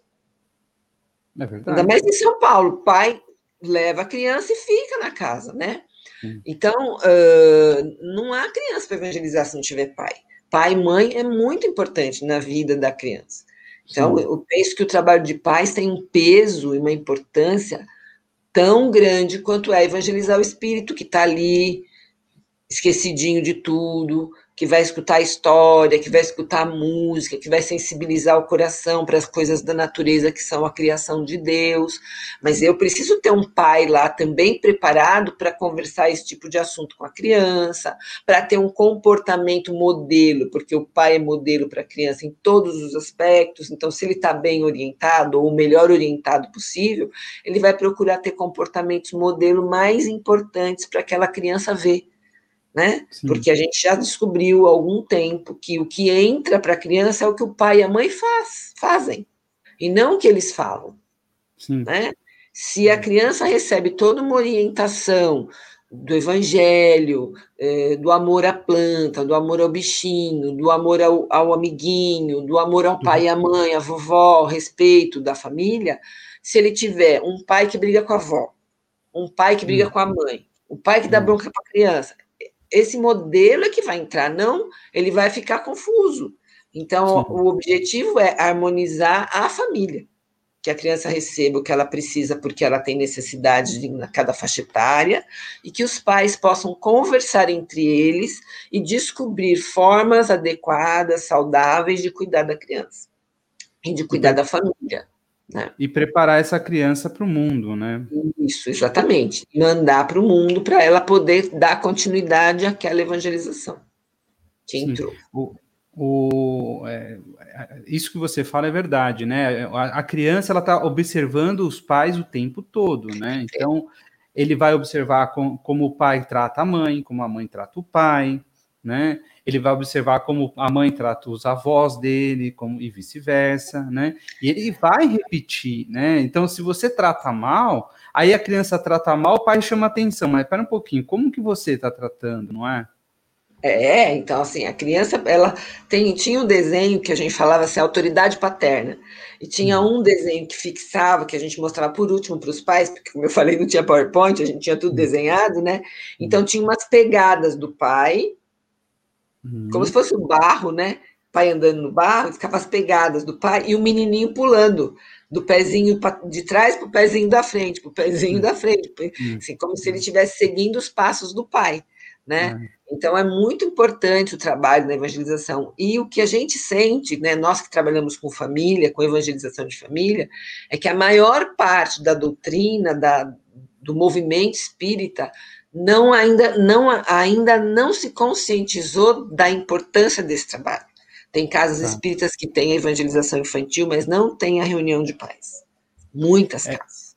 é Ainda verdade. mais em São Paulo, o pai leva a criança e fica na casa, né? Sim. Então, uh, não há criança para evangelizar se não tiver pai. Pai e mãe é muito importante na vida da criança. Então, Sim. eu penso que o trabalho de pais tem um peso e uma importância tão grande quanto é evangelizar o espírito que está ali, esquecidinho de tudo, que vai escutar a história, que vai escutar a música, que vai sensibilizar o coração para as coisas da natureza que são a criação de Deus. Mas eu preciso ter um pai lá também preparado para conversar esse tipo de assunto com a criança, para ter um comportamento modelo, porque o pai é modelo para a criança em todos os aspectos. Então, se ele está bem orientado, ou o melhor orientado possível, ele vai procurar ter comportamentos modelo mais importantes para aquela criança ver. Né? Porque a gente já descobriu há algum tempo que o que entra para a criança é o que o pai e a mãe faz, fazem, e não o que eles falam. Né? Se a criança recebe toda uma orientação do evangelho, eh, do amor à planta, do amor ao bichinho, do amor ao, ao amiguinho, do amor ao pai e à mãe, à vovó, respeito da família, se ele tiver um pai que briga com a avó, um pai que briga hum. com a mãe, o pai que dá bronca para a criança, esse modelo é que vai entrar, não, ele vai ficar confuso. Então, Sim. o objetivo é harmonizar a família, que a criança receba o que ela precisa, porque ela tem necessidade de, na cada faixa etária, e que os pais possam conversar entre eles e descobrir formas adequadas, saudáveis de cuidar da criança e de cuidar da família. Né? E preparar essa criança para o mundo, né? Isso, exatamente. Mandar para o mundo para ela poder dar continuidade àquela evangelização que Sim. entrou. O, o, é, isso que você fala é verdade, né? A, a criança ela está observando os pais o tempo todo, né? Então, ele vai observar com, como o pai trata a mãe, como a mãe trata o pai, né? Ele vai observar como a mãe trata os avós dele, como, e vice-versa, né? E ele vai repetir, né? Então, se você trata mal, aí a criança trata mal, o pai chama atenção, mas espera um pouquinho, como que você está tratando, não é? É, então, assim, a criança, ela tem, tinha um desenho que a gente falava assim, autoridade paterna, e tinha um desenho que fixava, que a gente mostrava por último para os pais, porque, como eu falei, não tinha PowerPoint, a gente tinha tudo desenhado, né? Então, tinha umas pegadas do pai, Uhum. como se fosse o barro, né? O pai andando no barro, ficava as pegadas do pai e o menininho pulando do pezinho de trás para o pezinho da frente, para o pezinho uhum. da frente, assim, como se ele estivesse seguindo os passos do pai, né? Uhum. Então é muito importante o trabalho da evangelização. E o que a gente sente, né, nós que trabalhamos com família, com evangelização de família, é que a maior parte da doutrina, da, do movimento espírita, não ainda, não, ainda não se conscientizou da importância desse trabalho. Tem casas tá. espíritas que têm a evangelização infantil, mas não tem a reunião de pais. Muitas é, casas.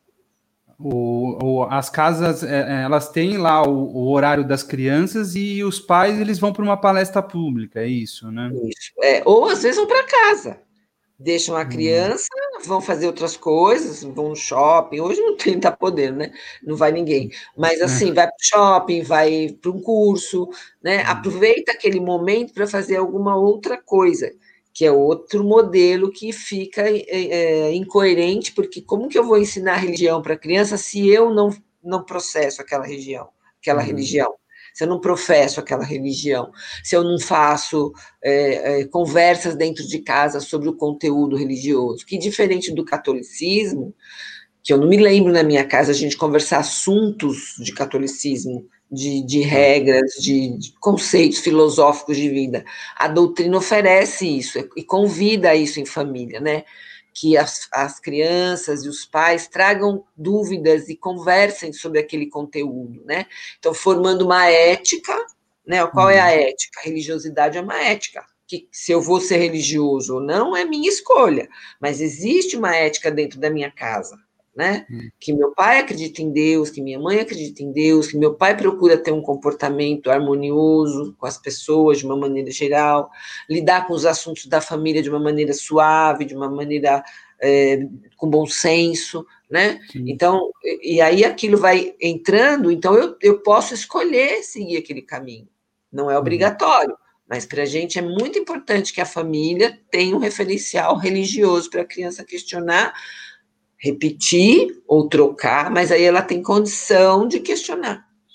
O, o, as casas, é, elas têm lá o, o horário das crianças e os pais, eles vão para uma palestra pública, é isso, né? Isso. É, ou às vezes vão para casa. Deixam a criança, hum. vão fazer outras coisas, vão no shopping. Hoje não tem, tá podendo, né? Não vai ninguém. Mas assim, é. vai para o shopping, vai para um curso, né? Hum. Aproveita aquele momento para fazer alguma outra coisa, que é outro modelo que fica é, incoerente, porque como que eu vou ensinar religião para a criança se eu não, não processo aquela religião, aquela hum. religião? Se eu não professo aquela religião, se eu não faço é, é, conversas dentro de casa sobre o conteúdo religioso, que diferente do catolicismo, que eu não me lembro na minha casa a gente conversar assuntos de catolicismo, de, de regras, de, de conceitos filosóficos de vida. A doutrina oferece isso e convida a isso em família, né? Que as, as crianças e os pais tragam dúvidas e conversem sobre aquele conteúdo, né? Então, formando uma ética, né? Qual é a ética? A religiosidade é uma ética. Que se eu vou ser religioso ou não é minha escolha, mas existe uma ética dentro da minha casa, né? Hum. Que meu pai acredita em Deus, que minha mãe acredita em Deus, que meu pai procura ter um comportamento harmonioso com as pessoas de uma maneira geral, lidar com os assuntos da família de uma maneira suave, de uma maneira é, com bom senso, né? Sim. Então, e aí aquilo vai entrando, então eu, eu posso escolher seguir aquele caminho, não é obrigatório. Hum. Mas para a gente é muito importante que a família tenha um referencial religioso para a criança questionar, repetir ou trocar, mas aí ela tem condição de questionar.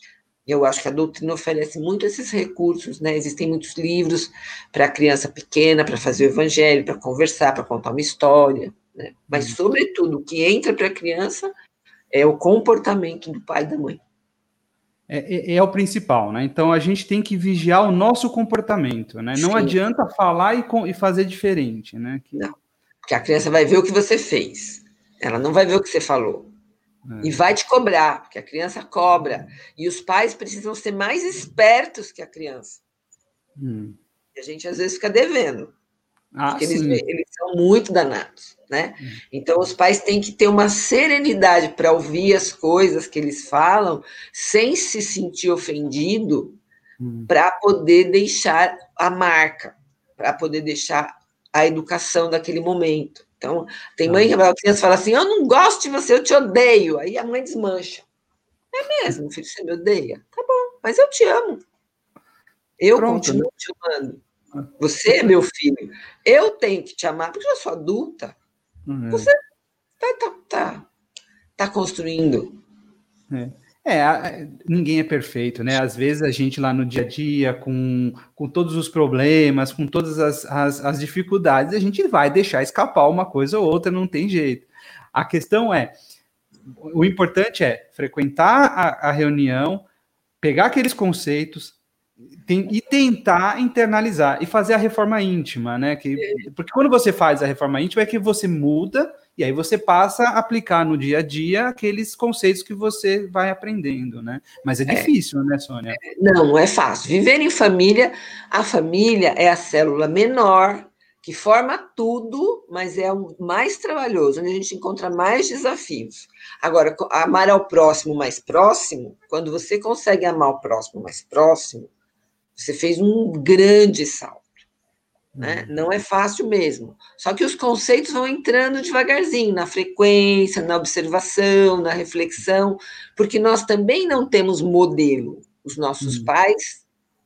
Eu acho que a doutrina oferece muito esses recursos, né? Existem muitos livros para a criança pequena, para fazer o evangelho, para conversar, para contar uma história, né? Mas, Hum. sobretudo, o que entra para a criança é o comportamento do pai e da mãe. É, é, é o principal, né? Então a gente tem que vigiar o nosso comportamento, né? Não Sim. adianta falar e, e fazer diferente, né? Que... Não, porque a criança vai ver o que você fez, ela não vai ver o que você falou. É. E vai te cobrar, porque a criança cobra. E os pais precisam ser mais espertos que a criança. Hum. E a gente, às vezes, fica devendo. Ah, porque sim. eles, eles são muito danados, né? Hum. Então, os pais têm que ter uma serenidade para ouvir as coisas que eles falam, sem se sentir ofendido, hum. para poder deixar a marca, para poder deixar a educação daquele momento. Então, tem mãe que a criança fala assim, eu não gosto de você, eu te odeio. Aí a mãe desmancha. É mesmo, filho, você me odeia? Tá bom, mas eu te amo. Eu Pronto, continuo né? te amando. Você é meu filho. Eu tenho que te amar, porque eu sou adulta. Uhum. Você tá, tá, tá, tá construindo. É. É, ninguém é perfeito, né? Às vezes a gente lá no dia a dia, com, com todos os problemas, com todas as, as, as dificuldades, a gente vai deixar escapar uma coisa ou outra, não tem jeito. A questão é, o importante é frequentar a, a reunião, pegar aqueles conceitos tem, e tentar internalizar e fazer a reforma íntima, né? Que, porque quando você faz a reforma íntima é que você muda e aí você passa a aplicar no dia a dia aqueles conceitos que você vai aprendendo, né? Mas é difícil, é. né, Sônia? Não, não é fácil. Viver em família, a família é a célula menor que forma tudo, mas é o mais trabalhoso, onde a gente encontra mais desafios. Agora, amar ao próximo mais próximo, quando você consegue amar o próximo mais próximo, você fez um grande salto. Né? Uhum. Não é fácil mesmo. Só que os conceitos vão entrando devagarzinho, na frequência, na observação, na reflexão, porque nós também não temos modelo. Os nossos uhum. pais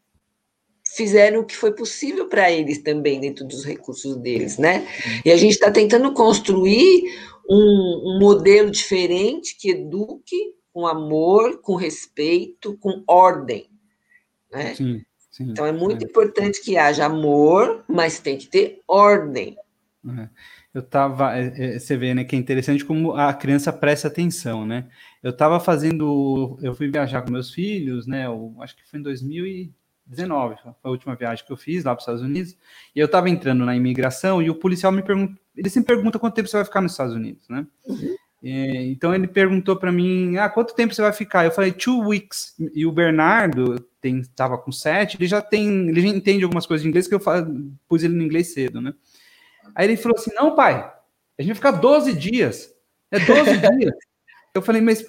fizeram o que foi possível para eles também, dentro dos recursos deles, né? E a gente está tentando construir um, um modelo diferente que eduque com amor, com respeito, com ordem, né? Sim. Sim, então, é muito é. importante que haja amor, mas tem que ter ordem. É. Eu estava... É, é, você vê, né, que é interessante como a criança presta atenção, né? Eu estava fazendo... Eu fui viajar com meus filhos, né? Eu, acho que foi em dois mil e dezenove, foi a última viagem que eu fiz lá para os Estados Unidos. E eu estava entrando na imigração e o policial me perguntou... Ele sempre pergunta quanto tempo você vai ficar nos Estados Unidos, né? Uhum. É, então, ele perguntou para mim, ah, quanto tempo você vai ficar? Eu falei, two weeks. E o Bernardo... estava com sete, ele já tem, ele já entende algumas coisas de inglês que eu falo, pus ele no inglês cedo, né? Aí ele falou assim, não, pai, a gente vai ficar doze dias, é doze dias. Eu falei, mas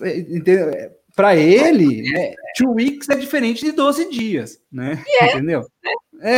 para ele, né, two weeks é diferente de doze dias, né? Yeah. Entendeu? É.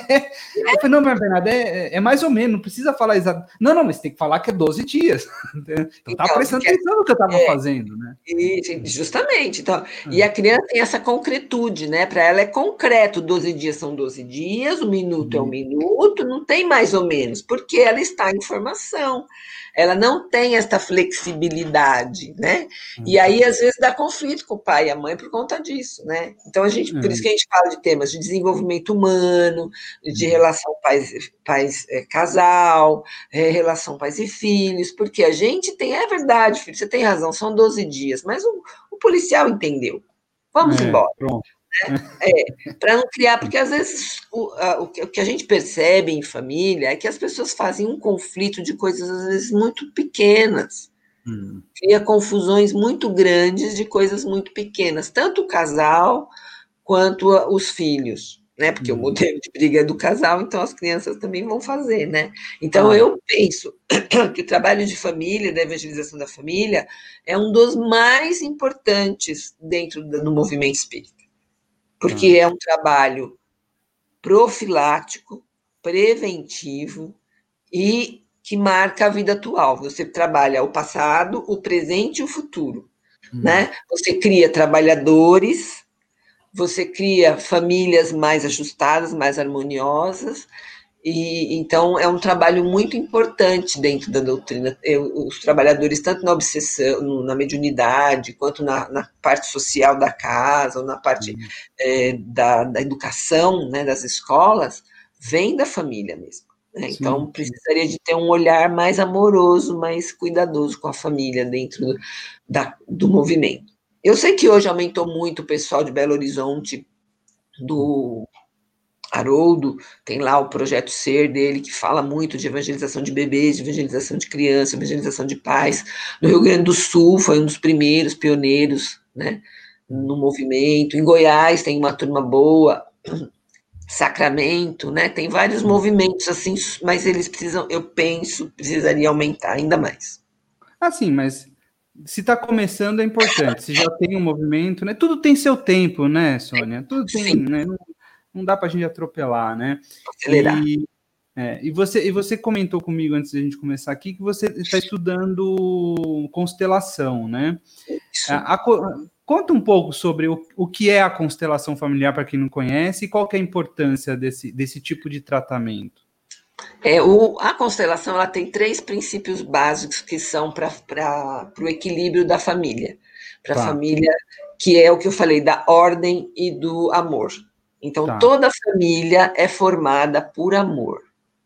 Eu falei, não, mas Bernardo, é, é mais ou menos, não precisa falar exato. Não, não, mas tem que falar que é doze dias. Então, então tá prestando que, atenção no que eu estava é, fazendo, né? Justamente. Então, é. E a criança tem essa concretude, né? Para ela é concreto, doze dias são doze dias, um minuto hum. é um minuto, não tem mais ou menos, porque ela está em formação. Ela não tem essa flexibilidade, né? Hum. E aí, às vezes, dá conflito com o pai e a mãe por conta disso, né? Então, a gente, por isso que a gente fala de temas de desenvolvimento humano, de relação pais, pais é, casal, é, relação pais e filhos, porque a gente tem, é verdade, filho, você tem razão, são doze dias, mas o, o policial entendeu. Vamos é, embora. Pronto. Né? É, para não criar, porque às vezes o, a, o que a gente percebe em família é que as pessoas fazem um conflito de coisas às vezes muito pequenas. Hum. Cria confusões muito grandes de coisas muito pequenas, tanto o casal quanto a, os filhos, né? Porque hum. o modelo de briga é do casal, então as crianças também vão fazer, né? Então ah. eu penso que o trabalho de família, da evangelização da família, é um dos mais importantes dentro do, do movimento espírita. Porque é um trabalho profilático, preventivo e que marca a vida atual. Você trabalha o passado, o presente e o futuro. Hum. Né? Você cria trabalhadores, você cria famílias mais ajustadas, mais harmoniosas, E então é um trabalho muito importante dentro da doutrina. Eu, os trabalhadores, tanto na obsessão, na mediunidade, quanto na, na parte social da casa, ou na parte é, da, da educação, né, das escolas, vem da família mesmo. Né? Então, precisaria de ter um olhar mais amoroso, mais cuidadoso com a família dentro do, da, do movimento. Eu sei que hoje aumentou muito o pessoal de Belo Horizonte, do Haroldo, tem lá o projeto Ser dele, que fala muito de evangelização de bebês, de evangelização de crianças, evangelização de pais. No Rio Grande do Sul foi um dos primeiros pioneiros, né, no movimento. Em Goiás tem uma turma boa. Sacramento, né? Tem vários movimentos assim, mas eles precisam, eu penso, precisaria aumentar ainda mais. Assim, mas se está começando é importante. Se já tem um movimento, né? Tudo tem seu tempo, né, Sônia? Tudo tem, Sim. né? Não, não dá para a gente atropelar, né? Acelerar. E, é, e, você, e você comentou comigo antes da gente começar aqui que você está estudando constelação, né? Isso. A, a, conta um pouco sobre o, o que é a constelação familiar para quem não conhece e qual que é a importância desse, desse tipo de tratamento. É, o, a constelação ela tem três princípios básicos que são para o equilíbrio da família. Para a Tá. família, que é o que eu falei, da ordem e do amor. Então, Tá. toda família é formada por amor.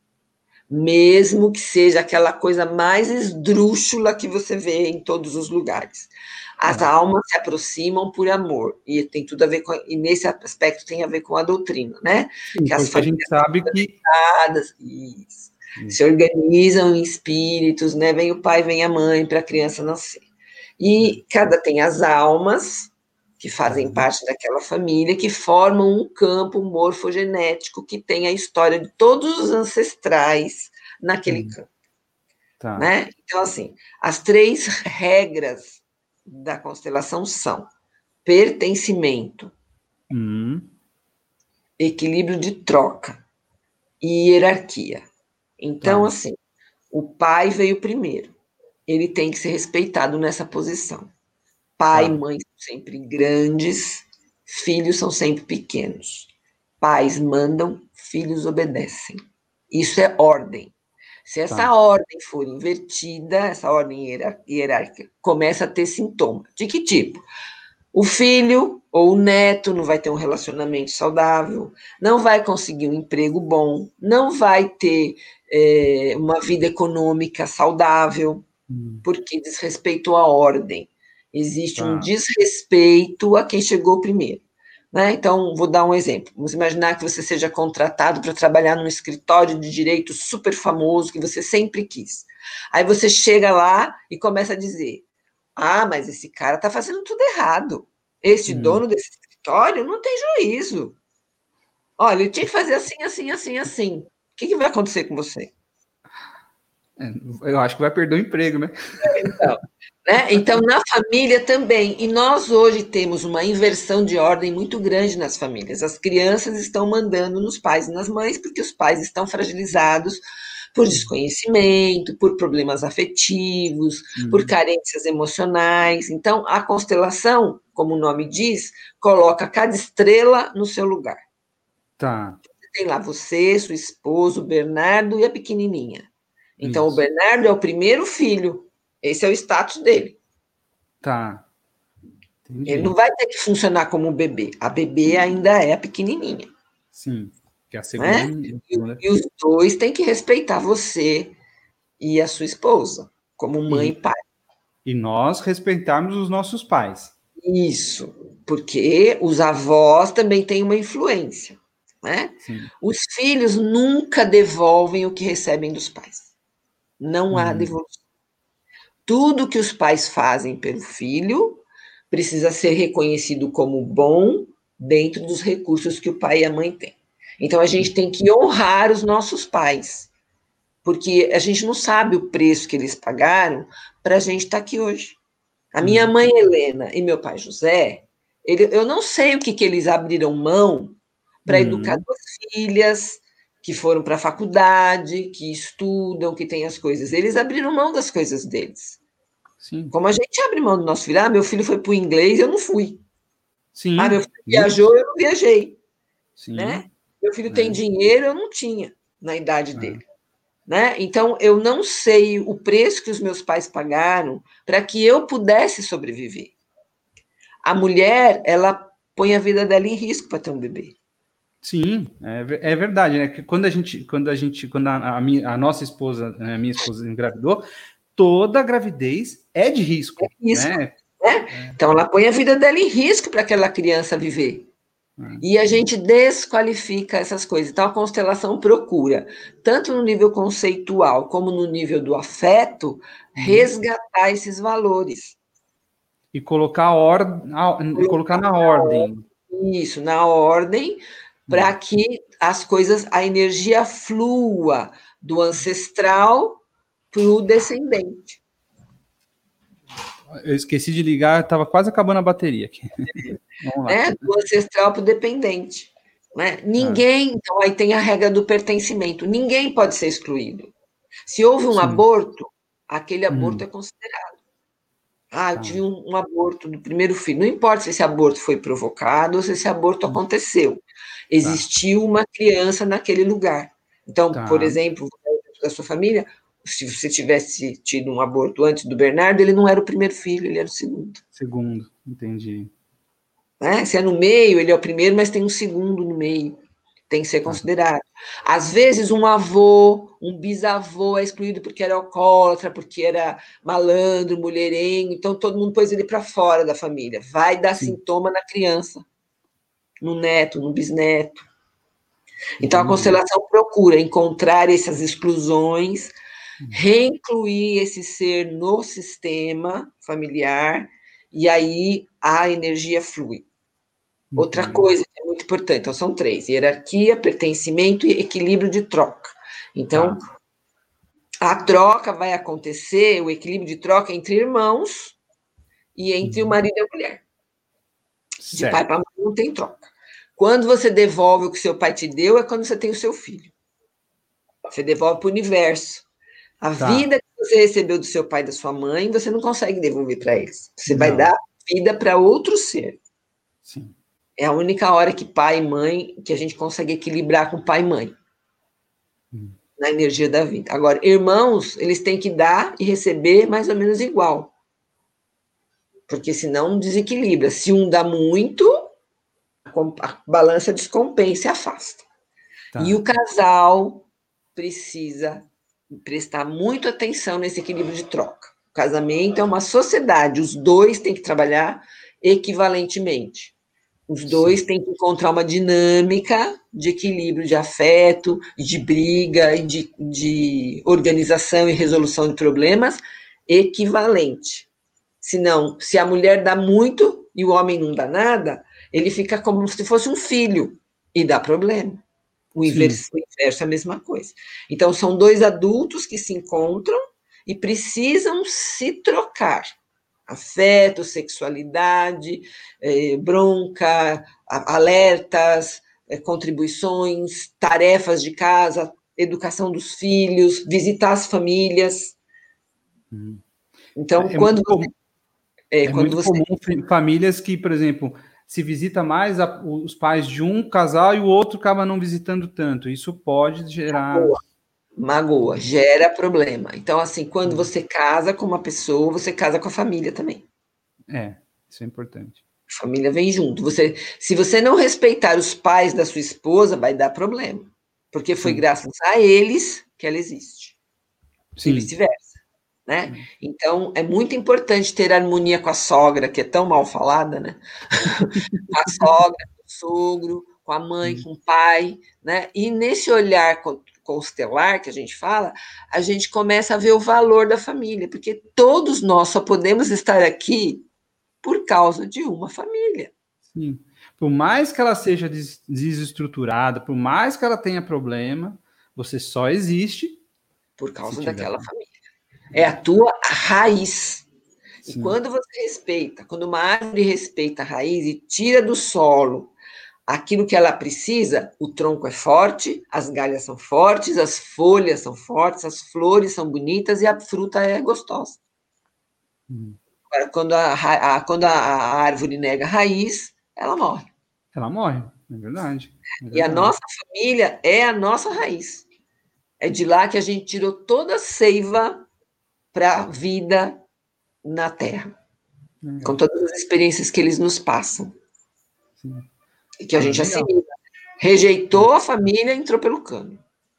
Mesmo que seja aquela coisa mais esdrúxula que você vê em todos os lugares. As É. almas se aproximam por amor, e tem tudo a ver com, e nesse aspecto tem a ver com a doutrina, né? Sim, que as porque a gente sabe que isso, se organizam em espíritos, né? Vem o pai, vem a mãe para a criança nascer. E cada tem as almas que fazem uhum. parte daquela família, que formam um campo morfogenético que tem a história de todos os ancestrais naquele Uhum. campo. Tá. Né? Então, assim, as três regras da constelação são pertencimento, Uhum. equilíbrio de troca e hierarquia. Então, Tá. assim, o pai veio primeiro. Ele tem que ser respeitado nessa posição. Pai e Tá. mãe são sempre grandes, filhos são sempre pequenos. Pais mandam, filhos obedecem. Isso é ordem. Se essa Tá. ordem for invertida, essa ordem hierárquica, começa a ter sintoma. De que tipo? O filho ou o neto não vai ter um relacionamento saudável, não vai conseguir um emprego bom, não vai ter é, uma vida econômica saudável, Hum. porque desrespeitou a ordem. Existe um Tá. desrespeito a quem chegou primeiro. Né? Então, vou dar um exemplo. Vamos imaginar que você seja contratado para trabalhar num escritório de direito super famoso, que você sempre quis. Aí você chega lá e começa a dizer: ah, mas esse cara está fazendo tudo errado. Este Hum. dono desse escritório não tem juízo. Olha, ele tinha que fazer assim, assim, assim, assim. O que, que vai acontecer com você? É, eu acho que vai perder o emprego, né? Então, né? Então, na família também. E nós hoje temos uma inversão de ordem muito grande nas famílias. As crianças estão mandando nos pais e nas mães, porque os pais estão fragilizados por desconhecimento, por problemas afetivos, Uhum. por carências emocionais. Então, a constelação, como o nome diz, coloca cada estrela no seu lugar. Tá. Tem lá você, sua esposa, o Bernardo e a pequenininha. Então, Isso. o Bernardo é o primeiro filho. Esse é o status dele. Tá. Entendi. Ele não vai ter que funcionar como um bebê. A bebê ainda é a pequenininha. Sim. Que é a segunda. Né? E, e os dois têm que respeitar você e a sua esposa, como mãe e, e pai. E nós respeitarmos os nossos pais. Isso, porque os avós também têm uma influência. Né? Sim. Os filhos nunca devolvem o que recebem dos pais. Não há Uhum. devolução. Tudo que os pais fazem pelo filho precisa ser reconhecido como bom dentro dos recursos que o pai e a mãe têm. Então, a gente tem que honrar os nossos pais, porque a gente não sabe o preço que eles pagaram para a gente estar aqui hoje. A minha Uhum. mãe Helena e meu pai José, ele, eu não sei o que, que eles abriram mão para uhum. educar duas filhas que foram para a faculdade, que estudam, que têm as coisas. Eles abriram mão das coisas deles. Sim. Como a gente abre mão do nosso filho. Ah, meu filho foi para o inglês, eu não fui. Sim. Ah, meu filho viajou, eu não viajei. Sim. Né? Meu filho é. tem dinheiro, eu não tinha. na idade ah. dele. Né? Então, eu não sei o preço que os meus pais pagaram para que eu pudesse sobreviver. A mulher, ela põe a vida dela em risco para ter um bebê. Sim, é, é verdade, né? Que quando a gente, quando a gente, quando a, a, minha, a nossa esposa, a minha esposa engravidou, toda gravidez é de risco, é risco né? né? É. Então, ela põe a vida dela em risco para aquela criança viver. E a gente desqualifica essas coisas. Então, a constelação procura, tanto no nível conceitual como no nível do afeto, resgatar esses valores. E colocar, or... e colocar na ordem. Isso, na ordem, para que as coisas, a energia flua do ancestral para o descendente. Eu esqueci de ligar, estava quase acabando a bateria aqui. Vamos lá. Né? Do ancestral para o dependente. Né? Ninguém, ah. então aí tem a regra do pertencimento, ninguém pode ser excluído. Se houve um Sim. aborto, aquele aborto hum. é considerado. Ah, eu tive um, um aborto do primeiro filho. Não importa se esse aborto foi provocado ou se esse aborto hum. aconteceu. Existiu tá. uma criança naquele lugar. Então, tá. por exemplo, da sua família, se você tivesse tido um aborto antes do Bernardo, ele não era o primeiro filho, ele era o segundo. Segundo, entendi. Né? Se é no meio, ele é o primeiro, mas tem um segundo no meio. Tem que ser considerado. Às vezes, um avô, um bisavô é excluído porque era alcoólatra, porque era malandro, mulherengo, então todo mundo pôs ele para fora da família. Vai dar Sim. sintoma na criança, no neto, no bisneto. Então, a constelação procura encontrar essas exclusões, reincluir esse ser no sistema familiar, e aí a energia flui. Outra coisa que é muito importante, então são três: hierarquia, pertencimento e equilíbrio de troca. Então, tá. a troca vai acontecer, o equilíbrio de troca entre irmãos e entre uhum. o marido e a mulher. Certo. De pai para mãe não tem troca. Quando você devolve o que seu pai te deu, é quando você tem o seu filho. Você devolve para o universo. A tá. vida que você recebeu do seu pai e da sua mãe, você não consegue devolver para eles. Você não. vai dar vida para outro ser. Sim. É a única hora que pai e mãe, que a gente consegue equilibrar com pai e mãe. Hum. Na energia da vida. Agora, irmãos, eles têm que dar e receber mais ou menos igual. Porque senão desequilibra. Se um dá muito, a balança descompensa e afasta. Tá. E o casal precisa prestar muito atenção nesse equilíbrio de troca. O casamento é uma sociedade, os dois têm que trabalhar equivalentemente. Os dois Sim. têm que encontrar uma dinâmica de equilíbrio, de afeto, de briga, de, de organização e resolução de problemas equivalente. Senão, se a mulher dá muito e o homem não dá nada, ele fica como se fosse um filho e dá problema. O inverso, o inverso é a mesma coisa. Então, são dois adultos que se encontram e precisam se trocar. Afeto, sexualidade, eh, bronca, alertas, eh, contribuições, tarefas de casa, educação dos filhos, visitar as famílias. Hum. Então, é quando muito, você... É, é quando muito você... comum famílias que, por exemplo, se visita mais a, os pais de um casal e o outro acaba não visitando tanto. Isso pode gerar... Magoa, magoa, gera problema. Então, assim, quando você casa com uma pessoa, você casa com a família também. É, isso é importante. A família vem junto. Você, se você não respeitar os pais da sua esposa, vai dar problema. Porque foi Sim. graças a eles que ela existe. Sim. E vice-versa. Né? Sim. Então, é muito importante ter harmonia com a sogra, que é tão mal falada, né? Com a sogra, com o sogro, com a mãe, Sim. com o pai, né? E nesse olhar constelar que a gente fala, a gente começa a ver o valor da família, porque todos nós só podemos estar aqui por causa de uma família. Sim. Por mais que ela seja des desestruturada, por mais que ela tenha problema, você só existe por causa daquela família. É a tua raiz. Sim. E quando você respeita, quando uma árvore respeita a raiz e tira do solo aquilo que ela precisa, o tronco é forte, as galhas são fortes, as folhas são fortes, as flores são bonitas e a fruta é gostosa. Hum. Agora, quando a, a, quando a árvore nega a raiz, ela morre. Ela morre, é verdade. É verdade. E a nossa família é a nossa raiz. É de lá que a gente tirou toda a seiva para a vida na Terra, com Legal. todas as experiências que eles nos passam. Sim. E que a Ah, gente legal. assimila. Rejeitou a família, entrou pelo cano.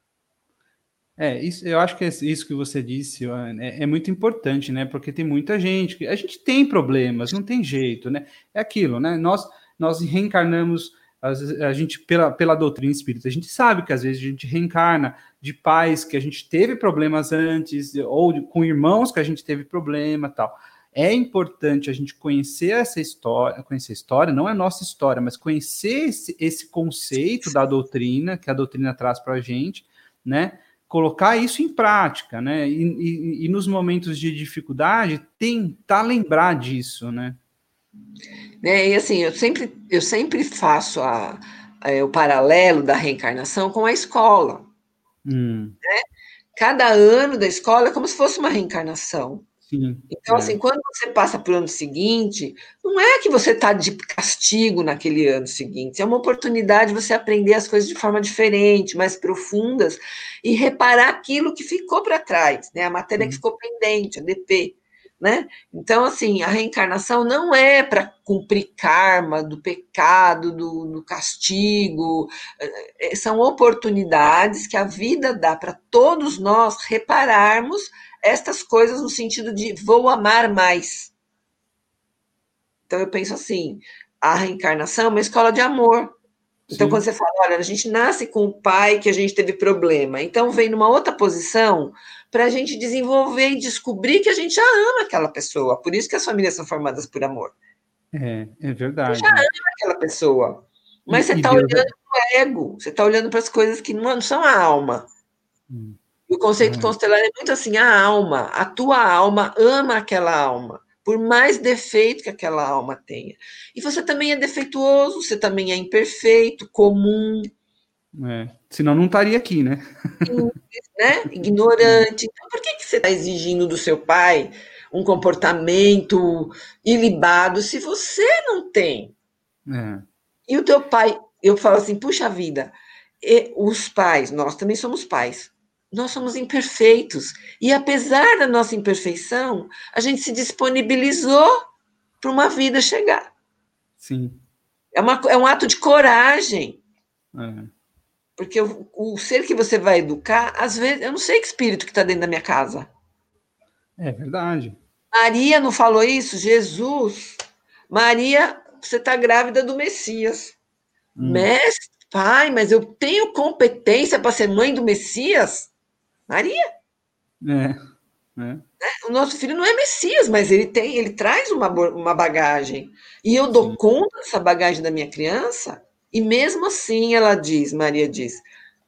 É, isso, eu acho que isso que você disse é, é muito importante, né? Porque tem muita gente que a gente tem problemas, não tem jeito, né? É aquilo, né? Nós, nós reencarnamos a gente pela, pela doutrina espírita, a gente sabe que às vezes a gente reencarna de pais que a gente teve problemas antes, ou de, com irmãos que a gente teve problema tal. É importante a gente conhecer essa história, conhecer a história, não é nossa história, mas conhecer esse, esse conceito da doutrina, que a doutrina traz para a gente, né? Colocar isso em prática, né? E, e, e nos momentos de dificuldade, tentar lembrar disso, né? Né? E assim, eu sempre, eu sempre faço a, a, o paralelo da reencarnação com a escola. Hum. Né? Cada ano da escola é como se fosse uma reencarnação. Sim, Então, é. assim, quando você passa para o ano seguinte, não é que você está de castigo naquele ano seguinte, é uma oportunidade de você aprender as coisas de forma diferente, mais profundas, e reparar aquilo que ficou para trás, né? A matéria que ficou pendente, a D P. Né? Então, assim, a reencarnação não é para cumprir karma do pecado, do, do castigo, são oportunidades que a vida dá para todos nós repararmos estas coisas no sentido de vou amar mais. Então eu penso assim, a reencarnação é uma escola de amor. Então, Sim. quando você fala, olha, a gente nasce com o pai que a gente teve problema, então vem numa outra posição para a gente desenvolver e descobrir que a gente já ama aquela pessoa. Por isso que as famílias são formadas por amor. É, é Você já verdade. ama aquela pessoa. Mas você E, e está Deus. olhando para o ego, você está olhando para as coisas que não, não são a alma. Hum, E o conceito é, constelar é muito assim, a alma, a tua alma ama aquela alma, por mais defeito que aquela alma tenha. E você também é defeituoso, você também é imperfeito, comum, é. Senão não estaria aqui, né? simples, né? Ignorante. Então, por que, que você está exigindo do seu pai um comportamento ilibado se você não tem? É, E o teu pai, eu falo assim, puxa vida, e os pais, nós também somos pais. Nós somos imperfeitos. E apesar da nossa imperfeição, a gente se disponibilizou para uma vida chegar. sim. É, uma, é um ato de coragem. É, Porque o, o ser que você vai educar, às vezes, eu não sei que espírito que está dentro da minha casa. é verdade. Maria não falou isso? Jesus. Maria, você está grávida do Messias. Hum, Mestre, pai, mas eu tenho competência para ser mãe do Messias? Maria, é, é, o nosso filho não é Messias, mas ele tem, ele traz uma, uma bagagem. E eu dou sim. conta dessa bagagem da minha criança? E mesmo assim, ela diz, Maria diz,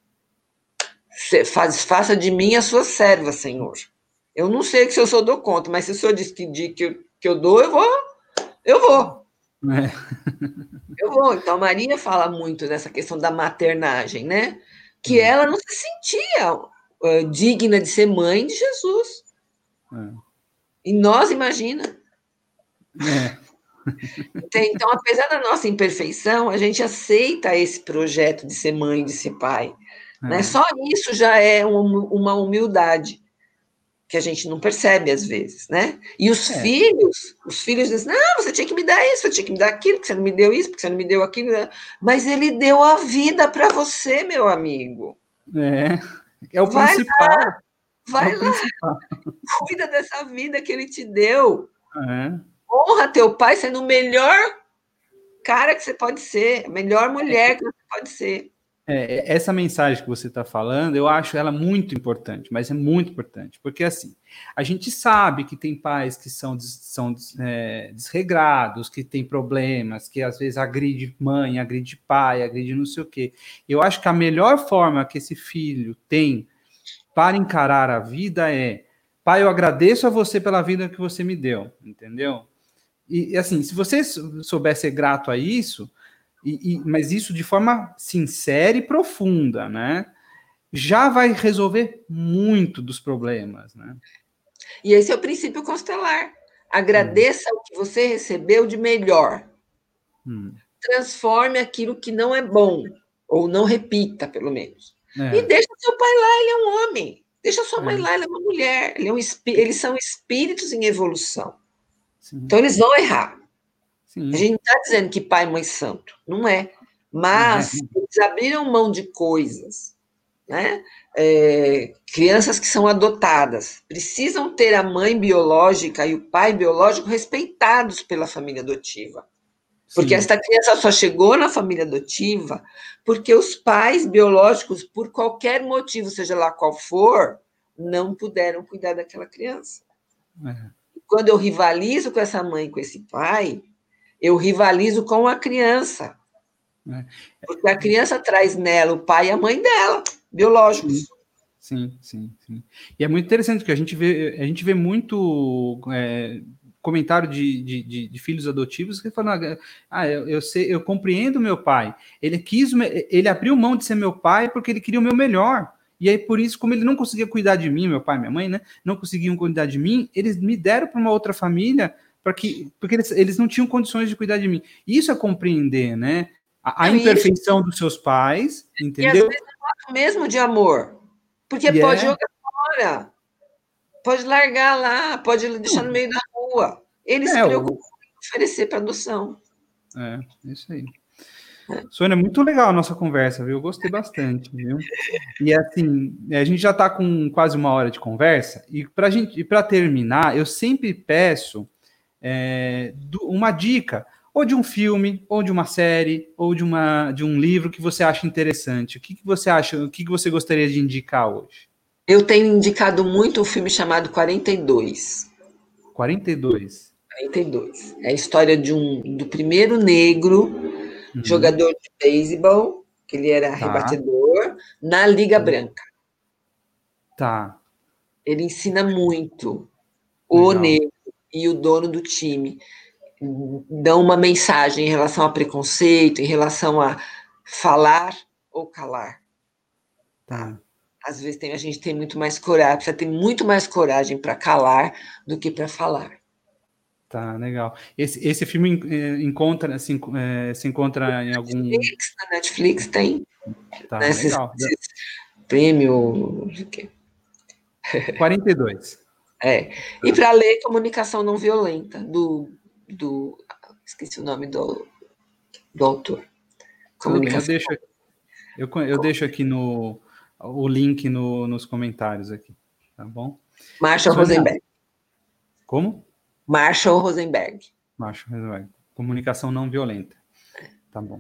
faz, faça de mim a sua serva, Senhor. Eu não sei se eu sou dou conta, mas se o senhor diz que, que, eu, que eu dou, eu vou, eu vou. É, Eu vou. Então, Maria fala muito dessa questão da maternagem, né? Que hum, ela não se sentia uh, digna de ser mãe de Jesus. é, E nós, imagina. é, Então, apesar da nossa imperfeição, a gente aceita esse projeto de ser mãe, de ser pai. Né? é, Só isso já é um, uma humildade que a gente não percebe às vezes, né? E os é, filhos, os filhos dizem, não, você tinha que me dar isso, você tinha que me dar aquilo, porque você não me deu isso, porque você não me deu aquilo. Mas ele deu a vida para você, meu amigo. é, é o Vai lá, principal. É vai o lá, principal. cuida dessa vida que ele te deu. É. Honra teu pai sendo o melhor cara que você pode ser, a melhor mulher que você pode ser. É, essa mensagem que você está falando, eu acho ela muito importante, mas é muito importante, porque assim, a gente sabe que tem pais que são, são é, desregrados, que tem problemas, que às vezes agride mãe, agride pai, agride não sei o quê. Eu acho que a melhor forma que esse filho tem para encarar a vida é, pai, eu agradeço a você pela vida que você me deu, entendeu? E assim, se você souber ser grato a isso, e, e, mas isso de forma sincera e profunda, né? Já vai resolver muito dos problemas, né? E esse é o princípio constelar. Hum, Agradeça o que você recebeu de melhor. hum, Transforme aquilo que não é bom, ou não repita, pelo menos. É, E deixa seu pai lá, ele é um homem. Deixa sua mãe é, lá, ela é uma mulher. Ele é um espí- eles são espíritos em evolução. sim, Então, eles vão errar. A sim. gente não está dizendo que pai e mãe santo. Não é. É, Mas eles abriram mão de coisas, né? É, crianças que são adotadas precisam ter a mãe biológica e o pai biológico respeitados pela família adotiva. Porque sim. esta criança só chegou na família adotiva porque os pais biológicos, por qualquer motivo, seja lá qual for, não puderam cuidar daquela criança. É, Quando eu rivalizo com essa mãe, com esse pai, eu rivalizo com a criança. é. Porque a criança traz nela o pai e a mãe dela, Sim, biológicos. sim, sim, sim. E é muito interessante que a gente vê, a gente vê muito é, comentário de, de, de, de filhos adotivos que falam, ah, eu, eu sei, eu compreendo meu pai. Ele quis, ele abriu mão de ser meu pai porque ele queria o meu melhor. E aí, por isso, como ele não conseguia cuidar de mim, meu pai e minha mãe, né? Não conseguiam cuidar de mim, eles me deram para uma outra família, para que, porque eles, eles não tinham condições de cuidar de mim. Isso é compreender, né? A, a Não, e, isso, imperfeição dos seus pais, e às entendeu? vezes é o mesmo de amor. Porque E pode é. jogar fora, pode largar lá, pode deixar no meio da rua. Eles se É, preocupam o, em oferecer para adoção. é, isso aí. Sônia, muito legal a nossa conversa, viu? Eu gostei bastante, viu? E assim, a gente já está com quase uma hora de conversa, e para gente, e para terminar, eu sempre peço é, do- uma dica, ou de um filme, ou de uma série, ou de, uma, de um livro que você acha interessante. O que, que você acha, o que, que você gostaria de indicar hoje? Eu tenho indicado muito um filme chamado quarenta e dois. quarenta e dois. quarenta e dois. É a história de um, do primeiro negro Uhum, jogador de beisebol, que ele era tá, rebatedor, na Liga Branca. tá, Ele ensina muito. O legal. negro e o dono do time dão uma mensagem em relação a preconceito, em relação a falar ou calar. Tá? Tá. Às vezes tem, a gente tem muito mais coragem, precisa ter muito mais coragem para calar do que para falar. Tá, legal. Esse, esse filme eh, encontra, se, enco- eh, se encontra em algum. Netflix, na Netflix tem, Tá, né, esses, legal. esses prêmio, não sei o quê. quarenta e dois. É. E para ler Comunicação Não Violenta, do, do. Esqueci o nome do, do autor. Tudo bem, eu Comunicação. deixo, eu, co- eu deixo aqui no o link no, nos comentários aqui, tá bom? Marshall Sônia, Rosenberg. como? Marshall Rosenberg. Macho, resolve. Comunicação não violenta. Tá bom.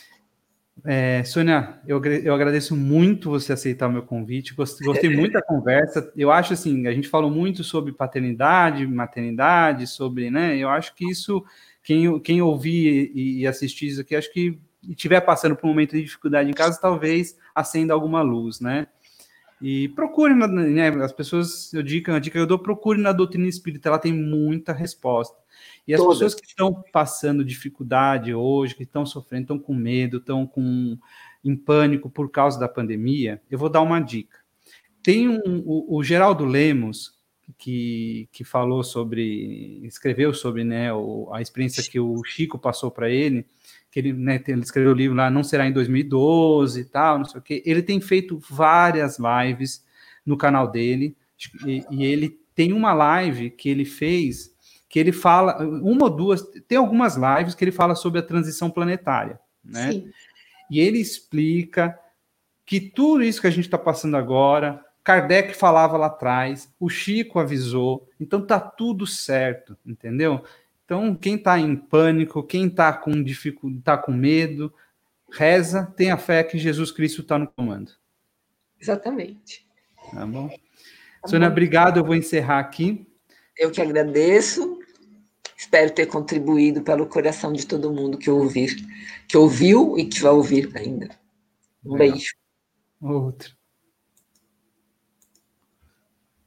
É, Sônia, eu, agra- eu agradeço muito você aceitar o meu convite. Gostei, gostei muito da conversa. Eu acho assim, a gente falou muito sobre paternidade, maternidade, sobre, né? Eu acho que isso, quem, quem ouvir e, e assistir isso aqui, acho que e estiver passando por um momento de dificuldade em casa, talvez acenda alguma luz, né? E procure, na- né? As pessoas, eu digo, a dica que eu dou, procure na doutrina espírita, ela tem muita resposta. E as Todas. pessoas que estão passando dificuldade hoje, que estão sofrendo, estão com medo, estão com em pânico por causa da pandemia, eu vou dar uma dica. Tem um, o, o Geraldo Lemos, que, que falou sobre, escreveu sobre, né, o, a experiência que o Chico passou para ele, que ele, né, ele escreveu o livro lá, Não Será em dois mil e doze e tal, não sei o quê. Ele tem feito várias lives no canal dele, e, e ele tem uma live que ele fez, que ele fala, uma ou duas, tem algumas lives que ele fala sobre a transição planetária, né? Sim. E ele explica que tudo isso que a gente está passando agora, Kardec falava lá atrás, o Chico avisou, então tá tudo certo, entendeu? Então, quem está em pânico, quem está com dificuldade, tá com medo, reza, tenha fé que Jesus Cristo está no comando. Exatamente. Tá bom? Tá Sônia, bom. obrigado, eu vou encerrar aqui. Eu que agradeço. Espero ter contribuído pelo coração de todo mundo que ouvir, que ouviu e que vai ouvir ainda. Um Legal. beijo. Outro.